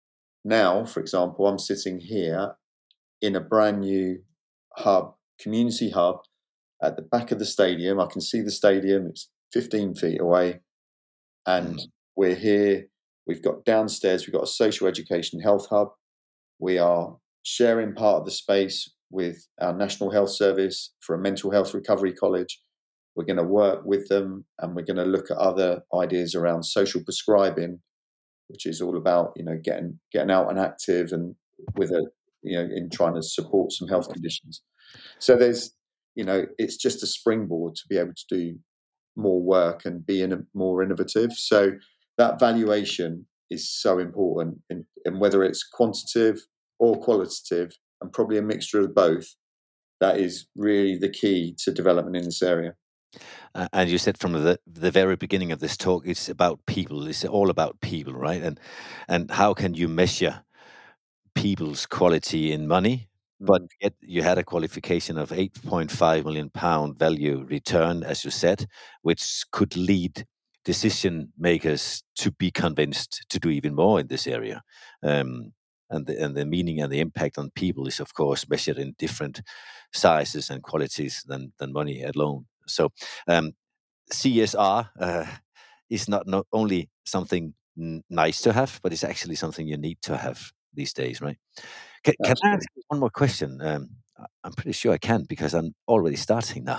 now, for example, I'm sitting here in a brand new hub, community hub, at the back of the stadium. I can see the stadium. It's fifteen feet away. And we're here. We've got downstairs, we've got a social education health hub. We are sharing part of the space with our National Health Service for a mental health recovery college. We're going to work with them, and we're going to look at other ideas around social prescribing, which is all about, you know, getting getting out and active, and with a, you know, in trying to support some health conditions. So there's, you know, it's just a springboard to be able to do more work and be in a, more innovative. So that valuation is so important, in, and whether it's quantitative or qualitative, and probably a mixture of both, that is really the key to development in this area. Uh, and you said from the the very beginning of this talk, it's about people. It's all about people, right? And and how can you measure people's quality in money? But yet you had a qualification of eight point five million pound value return, as you said, which could lead decision makers to be convinced to do even more in this area. Um, and the, and the meaning and the impact on people is, of course, measured in different sizes and qualities than than money alone. So um, C S R uh, is not, not only something n- nice to have, but it's actually something you need to have these days, right? Can, can I ask you one more question? Um, I- I'm pretty sure I can, because I'm already starting now.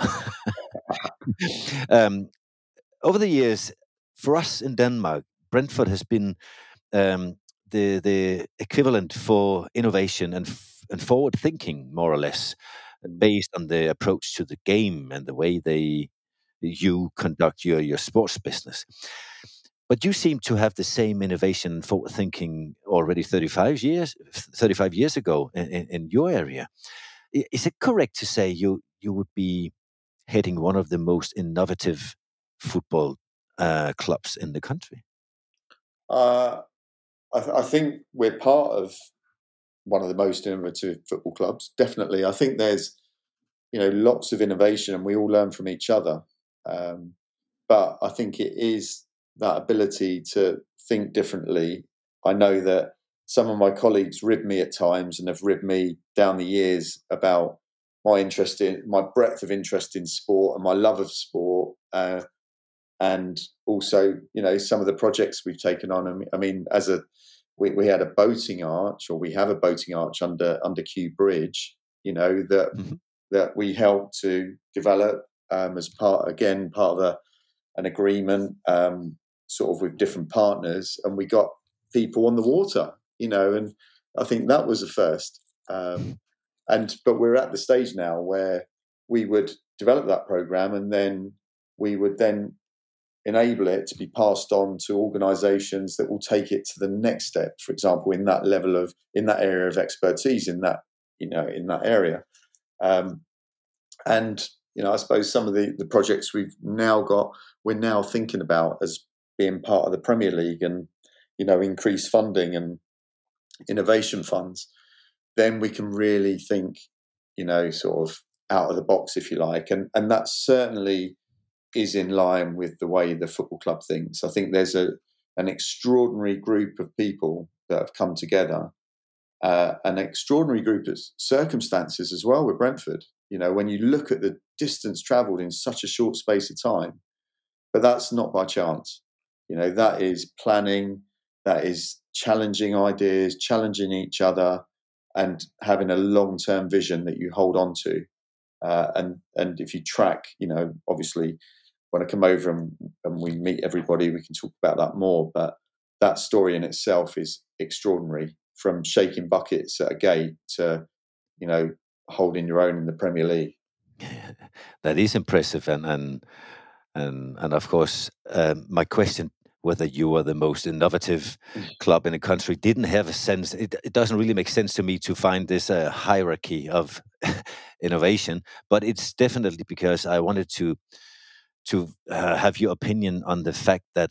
um, over the years, for us in Denmark, Brentford has been um, the the equivalent for innovation and f- and forward thinking, more or less, based on the approach to the game and the way they you conduct your your sports business. But you seem to have the same innovation, forward thinking already thirty-five years thirty-five years ago in, in, in your area. I- Is it correct to say you you would be heading one of the most innovative football uh, clubs in the country? Uh, I, th- I think we're part of one of the most innovative football clubs. Definitely, I think there's, you know, lots of innovation, and we all learn from each other. Um, but I think it is that ability to think differently. I know that some of my colleagues rib me at times, and have ribbed me down the years about my interest in my breadth of interest in sport and my love of sport. Uh, and also, you know, some of the projects we've taken on. I mean, as a we, we had a boating arch, or we have a boating arch under under Kew Bridge, you know, that mm-hmm. that we helped to develop um, as part again part of a, an agreement, um, sort of with different partners, and we got people on the water, you know, and I think that was a first. Um, and but we're at the stage now where we would develop that program, and then we would then enable it to be passed on to organisations that will take it to the next step. For example, in that level of, in that area of expertise, in that, you know, in that area. Um, and, you know, I suppose some of the, the projects we've now got, we're now thinking about as being part of the Premier League, and, you know, increased funding and innovation funds, then we can really think, you know, sort of out of the box, if you like. And, and that certainly is in line with the way the football club thinks. I think there's a an extraordinary group of people that have come together, uh, an extraordinary group of circumstances as well with Brentford. You know, when you look at the distance travelled in such a short space of time, but that's not by chance. You know, that is planning, that is challenging ideas, challenging each other, and having a long-term vision that you hold on to. Uh, and and if you track, you know, obviously when I come over and, and we meet everybody, we can talk about that more. But that story in itself is extraordinary, from shaking buckets at a gate to, you know, holding your own in the Premier League. That is impressive, and and and, and of course, um, my question, whether you are the most innovative club in the country, didn't have a sense. It, it doesn't really make sense to me to find this uh, hierarchy of innovation, but it's definitely because I wanted to to uh, have your opinion on the fact that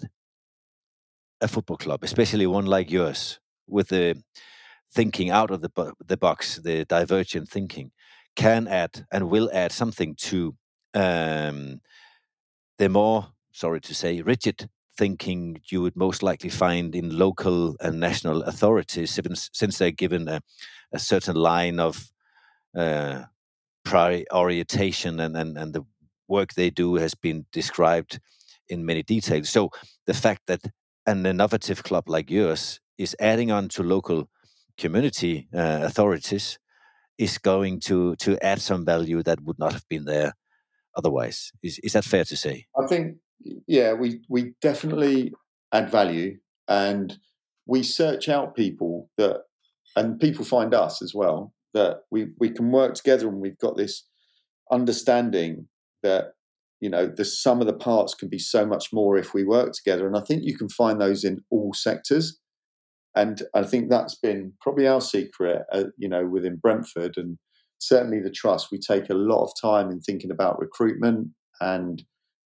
a football club, especially one like yours, with the thinking out of the bo- the box, the divergent thinking, can add and will add something to um, the more, sorry to say, rigid thinking you would most likely find in local and national authorities, since, since they're given a, a certain line of uh, prioritation and, and, and the work they do has been described in many details. So the fact that an innovative club like yours is adding on to local community uh, authorities is going to to add some value that would not have been there otherwise. Is is that fair to say? I think, yeah, we we definitely add value, and we search out people that, and people find us as well, that we we can work together, and we've got this understanding that, you know, the sum of the parts can be so much more if we work together. And I think you can find those in all sectors. And I think that's been probably our secret, uh, you know, within Brentford, and certainly the trust. We take a lot of time in thinking about recruitment, and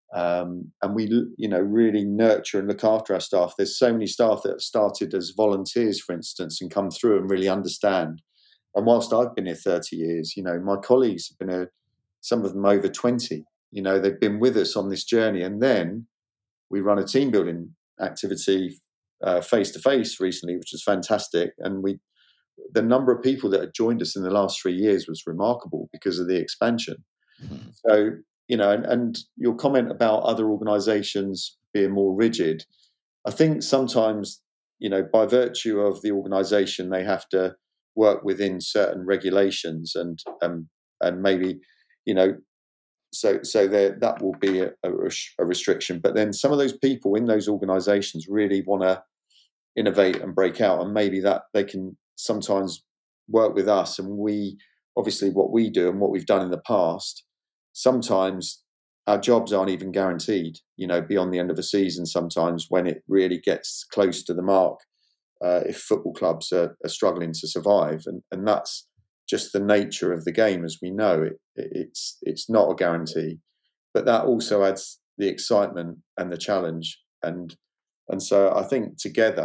um, and we, you know, really nurture and look after our staff. There's so many staff that have started as volunteers, for instance, and come through and really understand. And whilst I've been here thirty years, you know, my colleagues have been here, some of them over twenty. You know, they've been with us on this journey. And then we run a team building activity Uh, face to face recently, which was fantastic, and we the number of people that had joined us in the last three years was remarkable because of the expansion. Mm-hmm. So, you know, and, and your comment about other organisations being more rigid, I think sometimes, you know, by virtue of the organisation, they have to work within certain regulations, and um, and maybe, you know, so so there that will be a, a, a restriction. But then some of those people in those organisations really want to innovate and break out, and maybe that they can sometimes work with us. And we, obviously, what we do and what we've done in the past, sometimes our jobs aren't even guaranteed, you know, beyond the end of a season, sometimes when it really gets close to the mark, uh, if football clubs are, are struggling to survive. And, and that's just the nature of the game, as we know. It, it, it's it's not a guarantee, but that also adds the excitement and the challenge. And And so I think together,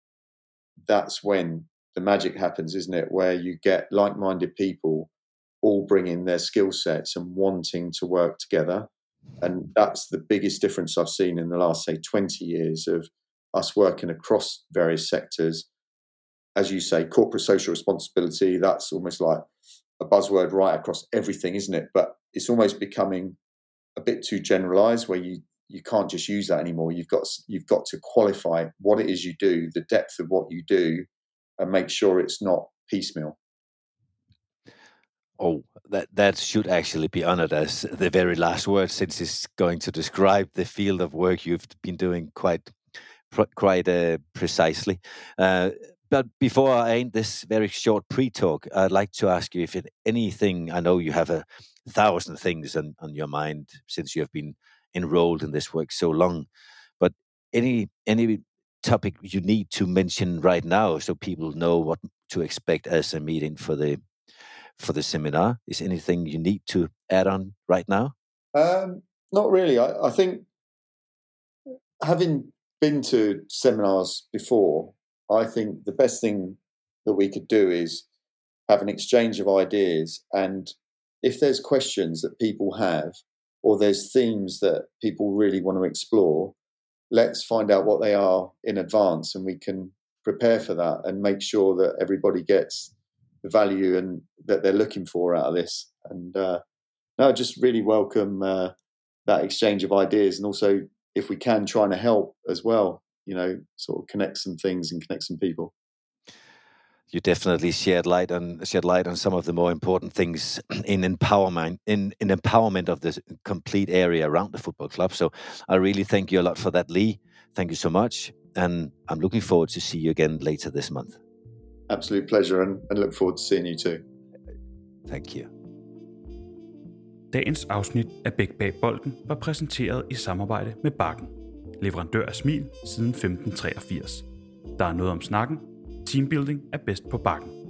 that's when the magic happens, isn't it? Where you get like-minded people all bringing their skill sets and wanting to work together. And that's the biggest difference I've seen in the last, say, twenty years of us working across various sectors. As you say, corporate social responsibility, that's almost like a buzzword right across everything, isn't it? But it's almost becoming a bit too generalised, where you you can't just use that anymore. You've got you've got to qualify what it is you do, the depth of what you do, and make sure it's not piecemeal. Oh, that that should actually be honored as the very last word, since it's going to describe the field of work you've been doing quite quite uh, precisely. Uh, but before I end this very short pre-talk, I'd like to ask you if it, anything. I know you have a thousand things on, on your mind since you have been enrolled in this work so long, but any any topic you need to mention right now so people know what to expect as a meeting for the for the seminar? Is anything you need to add on right now? Um, not really. I, I think, having been to seminars before, I think the best thing that we could do is have an exchange of ideas, and if there's questions that people have, or there's themes that people really want to explore, let's find out what they are in advance, and we can prepare for that and make sure that everybody gets the value and that they're looking for out of this. And uh, no, just really welcome uh, that exchange of ideas, and also, if we can, trying to help as well, you know, sort of connect some things and connect some people. You definitely shed light on shed light on some of the more important things in empowerment in, in empowerment of the complete area around the football club. So I really thank you a lot for that, Lee. Thank you so much, and I'm looking forward to see you again later this month. Absolute pleasure, and, and look forward to seeing you too. Thank you. Dagens afsnit af Bæk bag bolden var præsenteret i samarbejde med Bakken, leverandør af smil siden femten treogfirs. Der er noget om snakken. Teambuilding er bedst på Bakken.